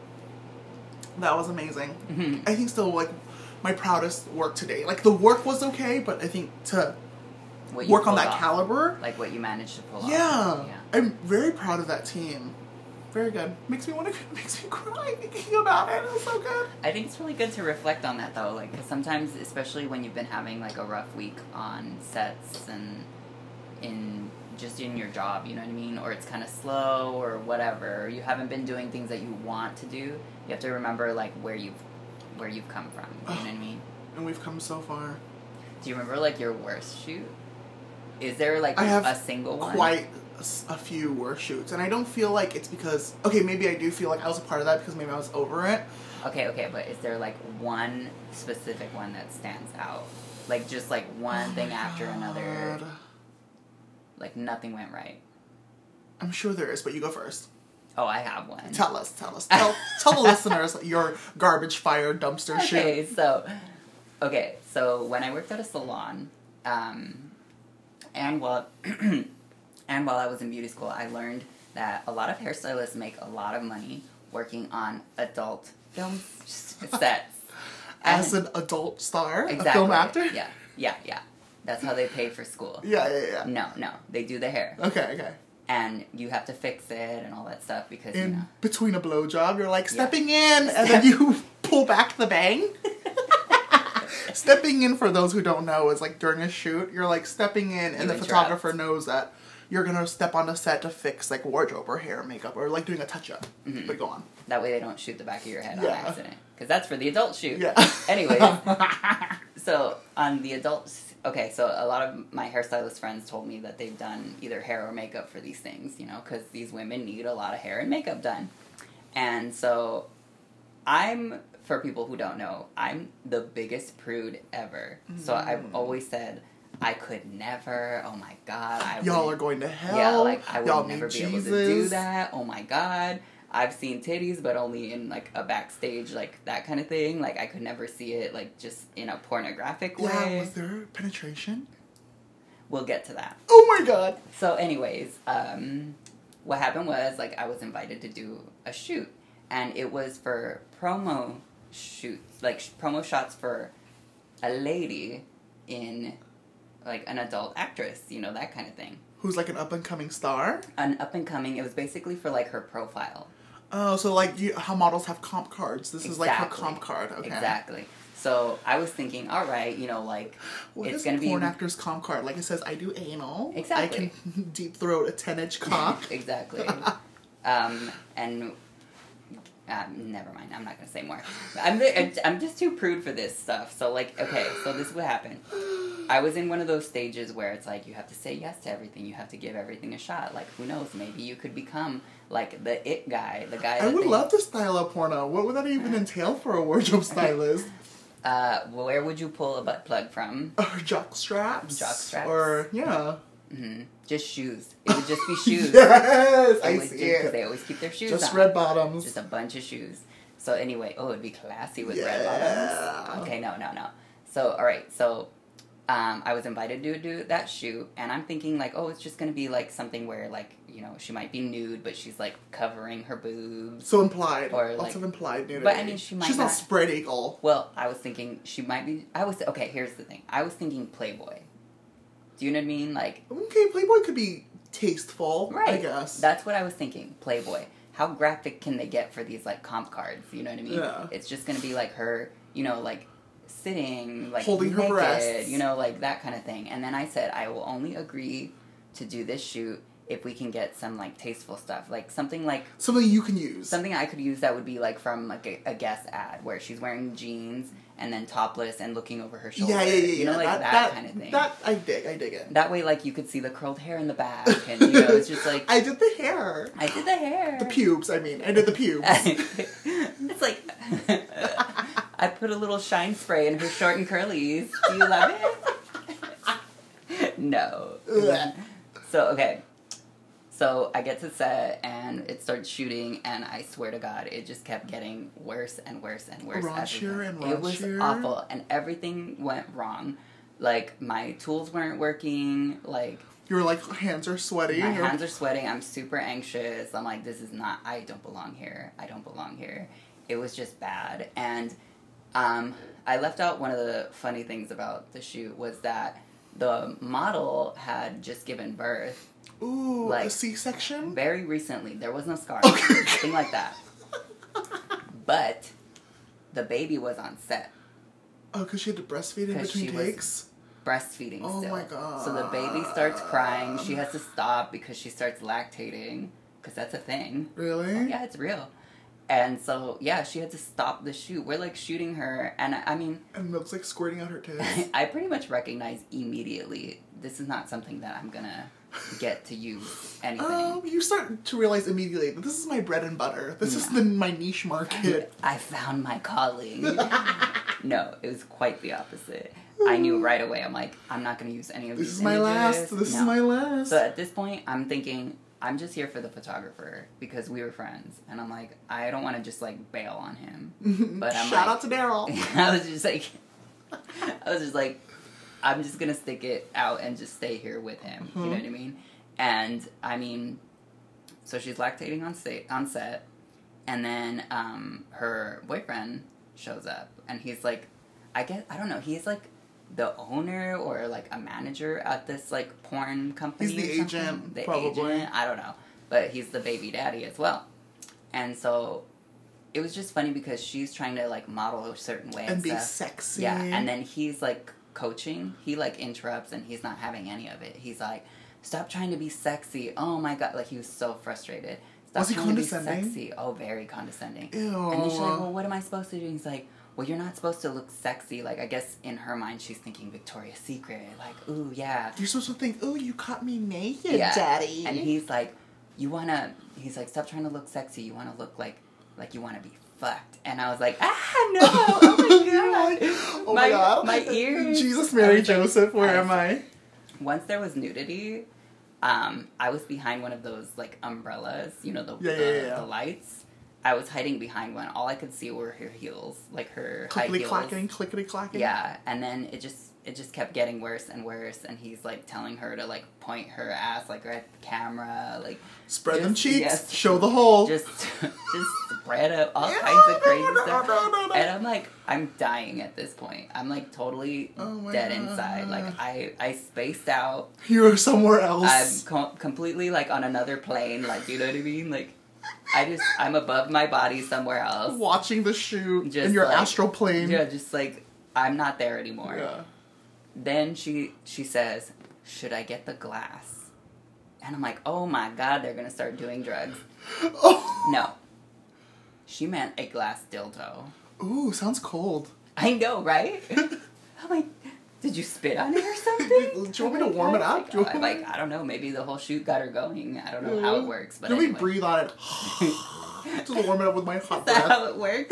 That was amazing. Mm-hmm. I think still, like, my proudest work today. Like, the work was okay, but I think to What you work on pulled that off. caliber, Like what you managed to pull yeah, off. Yeah. I'm very proud of that team. Very good. Makes me want to, makes me cry thinking about it. It was so good. I think it's really good to reflect on that though, like, because sometimes, especially when you've been having like a rough week on sets and in just in your job, you know what I mean, or it's kind of slow or whatever, or you haven't been doing things that you want to do, you have to remember like where you've where you've come from. You know what I mean? And we've come so far. Do you remember like your worst shoot? Is there like I have a single one? Quite a, s- a few worse shoots, and I don't feel like it's because okay, maybe I do feel like I was a part of that because maybe I was over it. Okay, okay, but is there like one specific one that stands out? Like just like one Oh thing my after another, God. like nothing went right. I'm sure there is, but you go first. Oh, I have one. Tell us, tell us, tell tell the listeners your garbage fire dumpster shoot. Okay, so, okay, so when I worked at a salon, um, and while, and while I was in beauty school, I learned that a lot of hairstylists make a lot of money working on adult film sets. As And- an adult star, exactly. a film actor. Yeah, yeah, yeah. That's how they pay for school. Yeah, yeah, yeah. No, no, they do the hair. Okay, okay. And you have to fix it and all that stuff because, In you know. between a blowjob, you're like Yeah. stepping in, and then you pull back the bang. Stepping in, for those who don't know, is like during a shoot, you're like stepping in, and You the interrupt. photographer knows that you're gonna step on the set to fix like wardrobe or hair, makeup, or like doing a touch up. Mhm. But go on. That way they don't shoot the back of your head Yeah. on accident. Because that's for the adult shoot. Yeah. Anyways, so on the adults, okay, so a lot of my hairstylist friends told me that they've done either hair or makeup for these things, you know, because these women need a lot of hair and makeup done. And so I'm, for people who don't know, I'm the biggest prude ever. So I've Mm. always said, I could never, oh my god, I Y'all would are going to hell. yeah, like I Y'all would never need be able Jesus. to do that. Oh my god. I've seen titties, but only in like a backstage, like that kind of thing. Like I could never see it like just in a pornographic Yeah, way. was there penetration? We'll get to that. Oh my god. So anyways, um, what happened was like I was invited to do a shoot, and it was for promo shoots, like sh- promo shots for a lady in like an adult actress, you know, that kind of thing. Who's like an up and coming star? An up and coming. It was basically for like her profile. Oh, so like you, how models have comp cards. This is like her Exactly. comp card. Okay. Exactly. So I was thinking, all right, you know, like What it's is gonna a porn be actor's comp card? Like it says, I do anal. Exactly. I can deep throat a ten inch cock. exactly. um, and um, never mind. I'm not gonna say more. I'm I'm just too prude for this stuff. So like, okay, so this is what happened. I was in one of those stages where it's like you have to say yes to everything. You have to give everything a shot. Like who knows? Maybe you could become like the it guy, the guy. I that would they- love to style a porno. What would that even entail for a wardrobe stylist? Uh, where would you pull a butt plug from? Or jock straps? Jock straps. Or, yeah. hmm Just shoes. It would just be shoes. Yes! It I was see just, 'cause it. they always keep their shoes Just on. red bottoms. Just a bunch of shoes. So anyway, oh, it'd be classy with red Yeah. bottoms. Okay, no, no, no. So, all right, so um, I was invited to do that shoot, and I'm thinking like, oh, it's just gonna be like something where like, you know, she might be nude, but she's like covering her boobs. So implied. Or, Lots like- of implied nudity. But, I mean, she might She's not, not- spread eagle. Well, I was thinking she might be. I was okay. Here's the thing. I was thinking Playboy. Do you know what I mean? Like, Okay, Playboy could be tasteful, right? I guess. That's what I was thinking. Playboy. How graphic can they get for these like comp cards? You know what I mean? Yeah. It's just gonna be like her, you know, like sitting, like Holding her naked, breasts. you know, like that kind of thing. And then I said, I will only agree to do this shoot if we can get some like tasteful stuff, like something like something you can use. Something I could use that would be like from like a, a Guess ad where she's wearing jeans and then topless and looking over her shoulder. Yeah, yeah, yeah, yeah. You know, like that, that, that kind of thing. That I dig. I dig it. That way, like you could see the curled hair in the back, and you know, it's just like I did the hair. I did the hair. The pubes. I mean, I did the pubes. It's like I put a little shine spray in her short and curlies. Do you love it? No. Ugh. So okay. So I get to set and it starts shooting, and I swear to God, it just kept getting worse and worse and worse. Raunchier and raunchier. It was awful, and everything went wrong. Like my tools weren't working. Like your like hands are sweaty. My or... hands are sweating. I'm super anxious. I'm like, this is not. I don't belong here. I don't belong here. It was just bad, and um, I left out one of the funny things about the shoot was that the model had just given birth. Ooh, like, a C-section? Very recently. There was no scar. Okay. Nothing like that. But the baby was on set. Oh, because she had to breastfeed in between takes? Breastfeeding oh still. Oh my God. So the baby starts crying. She has to stop because she starts lactating. Because that's a thing. Really? Oh, yeah, it's real. And so, yeah, she had to stop the shoot. We're, like, shooting her. And, I mean... And milk's, like, squirting out her tits. I pretty much recognize immediately this is not something that I'm gonna get to use anything. Oh, you start to realize immediately that this is my bread and butter. This no. is the, my niche market. I found my calling. No, it was quite the opposite. I knew right away. I'm like, I'm not going to use any of this these is my images. last. This no. is my last. So at this point, I'm thinking, I'm just here for the photographer because we were friends. And I'm like, I don't want to just, like, bail on him. But I'm Shout like, out to Daryl. I was just like, I was just like, I'm just going to stick it out and just stay here with him. Mm-hmm. You know what I mean? And, I mean, so she's lactating on, sta- on set. And then um, her boyfriend shows up. And he's like, I guess, I don't know, he's like the owner or like a manager at this like porn company. He's the agent, the probably. Agent, I don't know. But he's the baby daddy as well. And so it was just funny because she's trying to like model a certain way. And, and be stuff. sexy. Yeah, and then he's like coaching. He like interrupts and he's not having any of it. He's like, stop trying to be sexy. Oh my God. Like he was so frustrated. Stop was he trying condescending? to be sexy. Oh, very condescending. Ew. And then she's like, well, what am I supposed to do? And he's like, well, you're not supposed to look sexy. Like, I guess in her mind, she's thinking Victoria's Secret. Like, ooh, yeah. You're supposed to think, ooh, you caught me naked, yeah. daddy. And he's like, you want to, he's like, stop trying to look sexy. You want to look like, like you want to be fucked. And I was like, ah, no. Oh, my God. oh, my, my God. My ears. Jesus, Mary, like, Joseph, where I, am I? Once there was nudity, um, I was behind one of those, like, umbrellas. You know, the, yeah, the, yeah, yeah. the lights. I was hiding behind one. All I could see were her heels, like her high clickety heels. clacking, clickety clacking. Yeah, and then it just it just kept getting worse and worse. And he's like telling her to like point her ass like right at the camera, like spread just, them cheeks, yes, show the hole, just just spread up all yeah, kinds of crazy no, no, stuff. No, no, no. And I'm like, I'm dying at this point. I'm like totally oh dead God. inside. Like I I spaced out. You're somewhere else. I'm co- completely like on another plane. Like you know what I mean, like. I just, I'm above my body somewhere else. Watching the shoot just in your like, astral plane. Yeah, just like, I'm not there anymore. Yeah. Then she, she says, should I get the glass? And I'm like, oh my God, they're going to start doing drugs. Oh. No. She meant a glass dildo. Ooh, sounds cold. I know, right? I'm like, did you spit on it or something? Do you want me to warm it up? Like, I'm like, I don't know. Maybe the whole shoot got her going. I don't know how it works. But Let anyway. me breathe on it. Just warm it up with my hot Is breath. that how it works?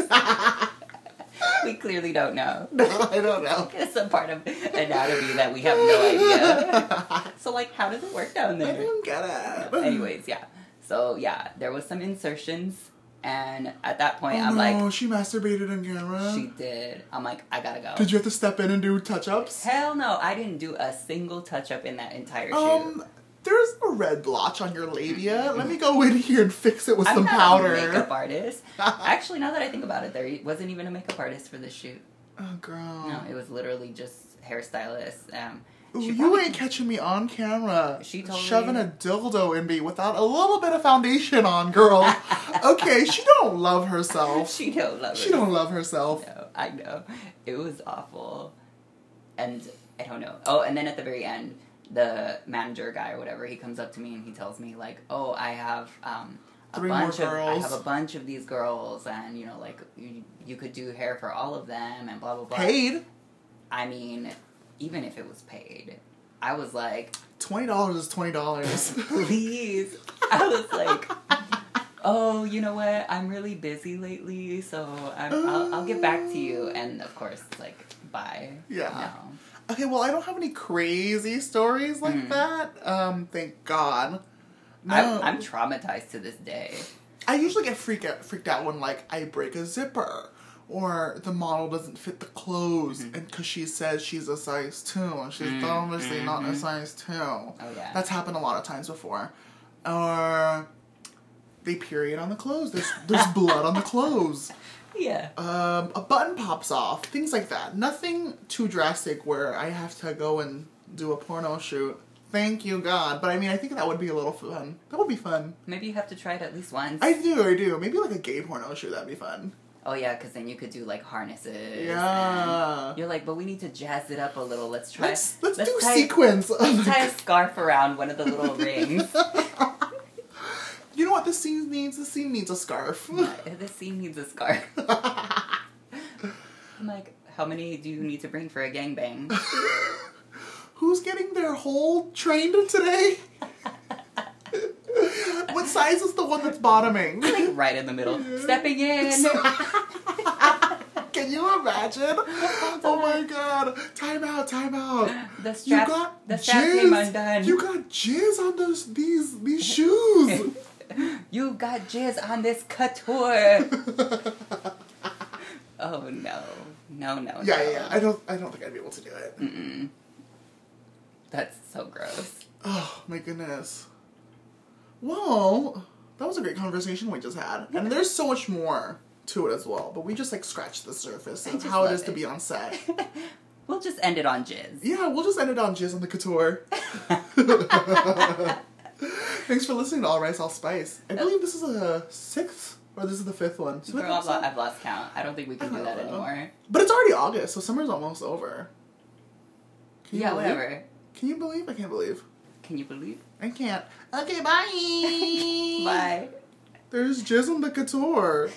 We clearly don't know. No, I don't know. It's a part of anatomy that we have no idea. So, like, how does it work down there? I don't get it. Anyways, yeah. So, yeah, there was some insertions. And at that point, oh, I'm no, like... she masturbated on camera? She did. I'm like, I gotta go. Did you have to step in and do touch-ups? Hell no. I didn't do a single touch-up in that entire shoot. Um, there's a red blotch on your labia. Let me go in here and fix it with I'm some not powder. a makeup artist. Actually, now that I think about it, there wasn't even a makeup artist for this shoot. Oh, girl. No, it was literally just hairstylist. Um... Ooh, She you probably, ain't catching me on camera. She totally... shoving a dildo in me without a little bit of foundation on, girl. Okay, she don't love herself. She don't love herself. She don't love herself. No, I know. It was awful. And I don't know. Oh, and then at the very end, the manager guy or whatever, he comes up to me and he tells me like, oh, I have um, a Three bunch more of girls. I have a bunch of these girls, and you know, like you, you could do hair for all of them, and blah blah blah. Paid? I mean, even if it was paid, I was like, twenty dollars is twenty dollars. please. I was like, oh, you know what? I'm really busy lately, so I'm, I'll, I'll get back to you. And of course, like, bye. Yeah. No. Okay, well, I don't have any crazy stories like Mm. that. Um, thank God. No. I'm, I'm traumatized to this day. I usually get freaked out, freaked out when, like, I break a zipper. Or the model doesn't fit the clothes, Mm-hmm. and because she says she's a size two, and she's Mm, obviously not a mhm. size two. Oh, yeah. That's happened a lot of times before. Or they period on the clothes. There's there's blood on the clothes. Yeah. Um, a button pops off. Things like that. Nothing too drastic where I have to go and do a porno shoot. Thank you, God. But I mean, I think that would be a little fun. That would be fun. Maybe you have to try it at least once. I do, I do. Maybe like a gay porno shoot. That'd be fun. Oh, yeah, because then you could do, like, harnesses. Yeah. and You're like, but we need to jazz it up a little. Let's try... Let's, let's, do tie, sequence. Let's tie a scarf around one of the little rings. You know what this scene needs? This scene needs a scarf. This scene needs a scarf. I'm like, how many do you need to bring for a gangbang? Who's getting their whole trained today? What size is the one that's bottoming? Like, right in the middle. Stepping in. Can you imagine? Oh my God! Time out! Time out! The strap, you got the strap came jizz. undone. You got jizz on those these these shoes. You got jizz on this couture. Oh no, no, no, Yeah, no. yeah, yeah. I don't I don't think I'd be able to do it. Mm-mm. That's so gross. Oh my goodness. Well, that was a great conversation we just had, and there's so much more to it as well. But we just like scratched the surface I of just how it love is to it. be on set. We'll just end it on jizz. Yeah, we'll just end it on jizz on the couture. Thanks for listening to All Rice, All Spice. I believe this is a sixth, or this is the fifth one. Fifth Girl, I've, lo- episode? I've lost count. I don't think we can do that anymore. But it's already August, so summer's almost over. Can you Yeah, believe? whatever. Can you believe? I can't believe. Can you believe? I can't. Okay, bye. Bye. There's jizz on the couture.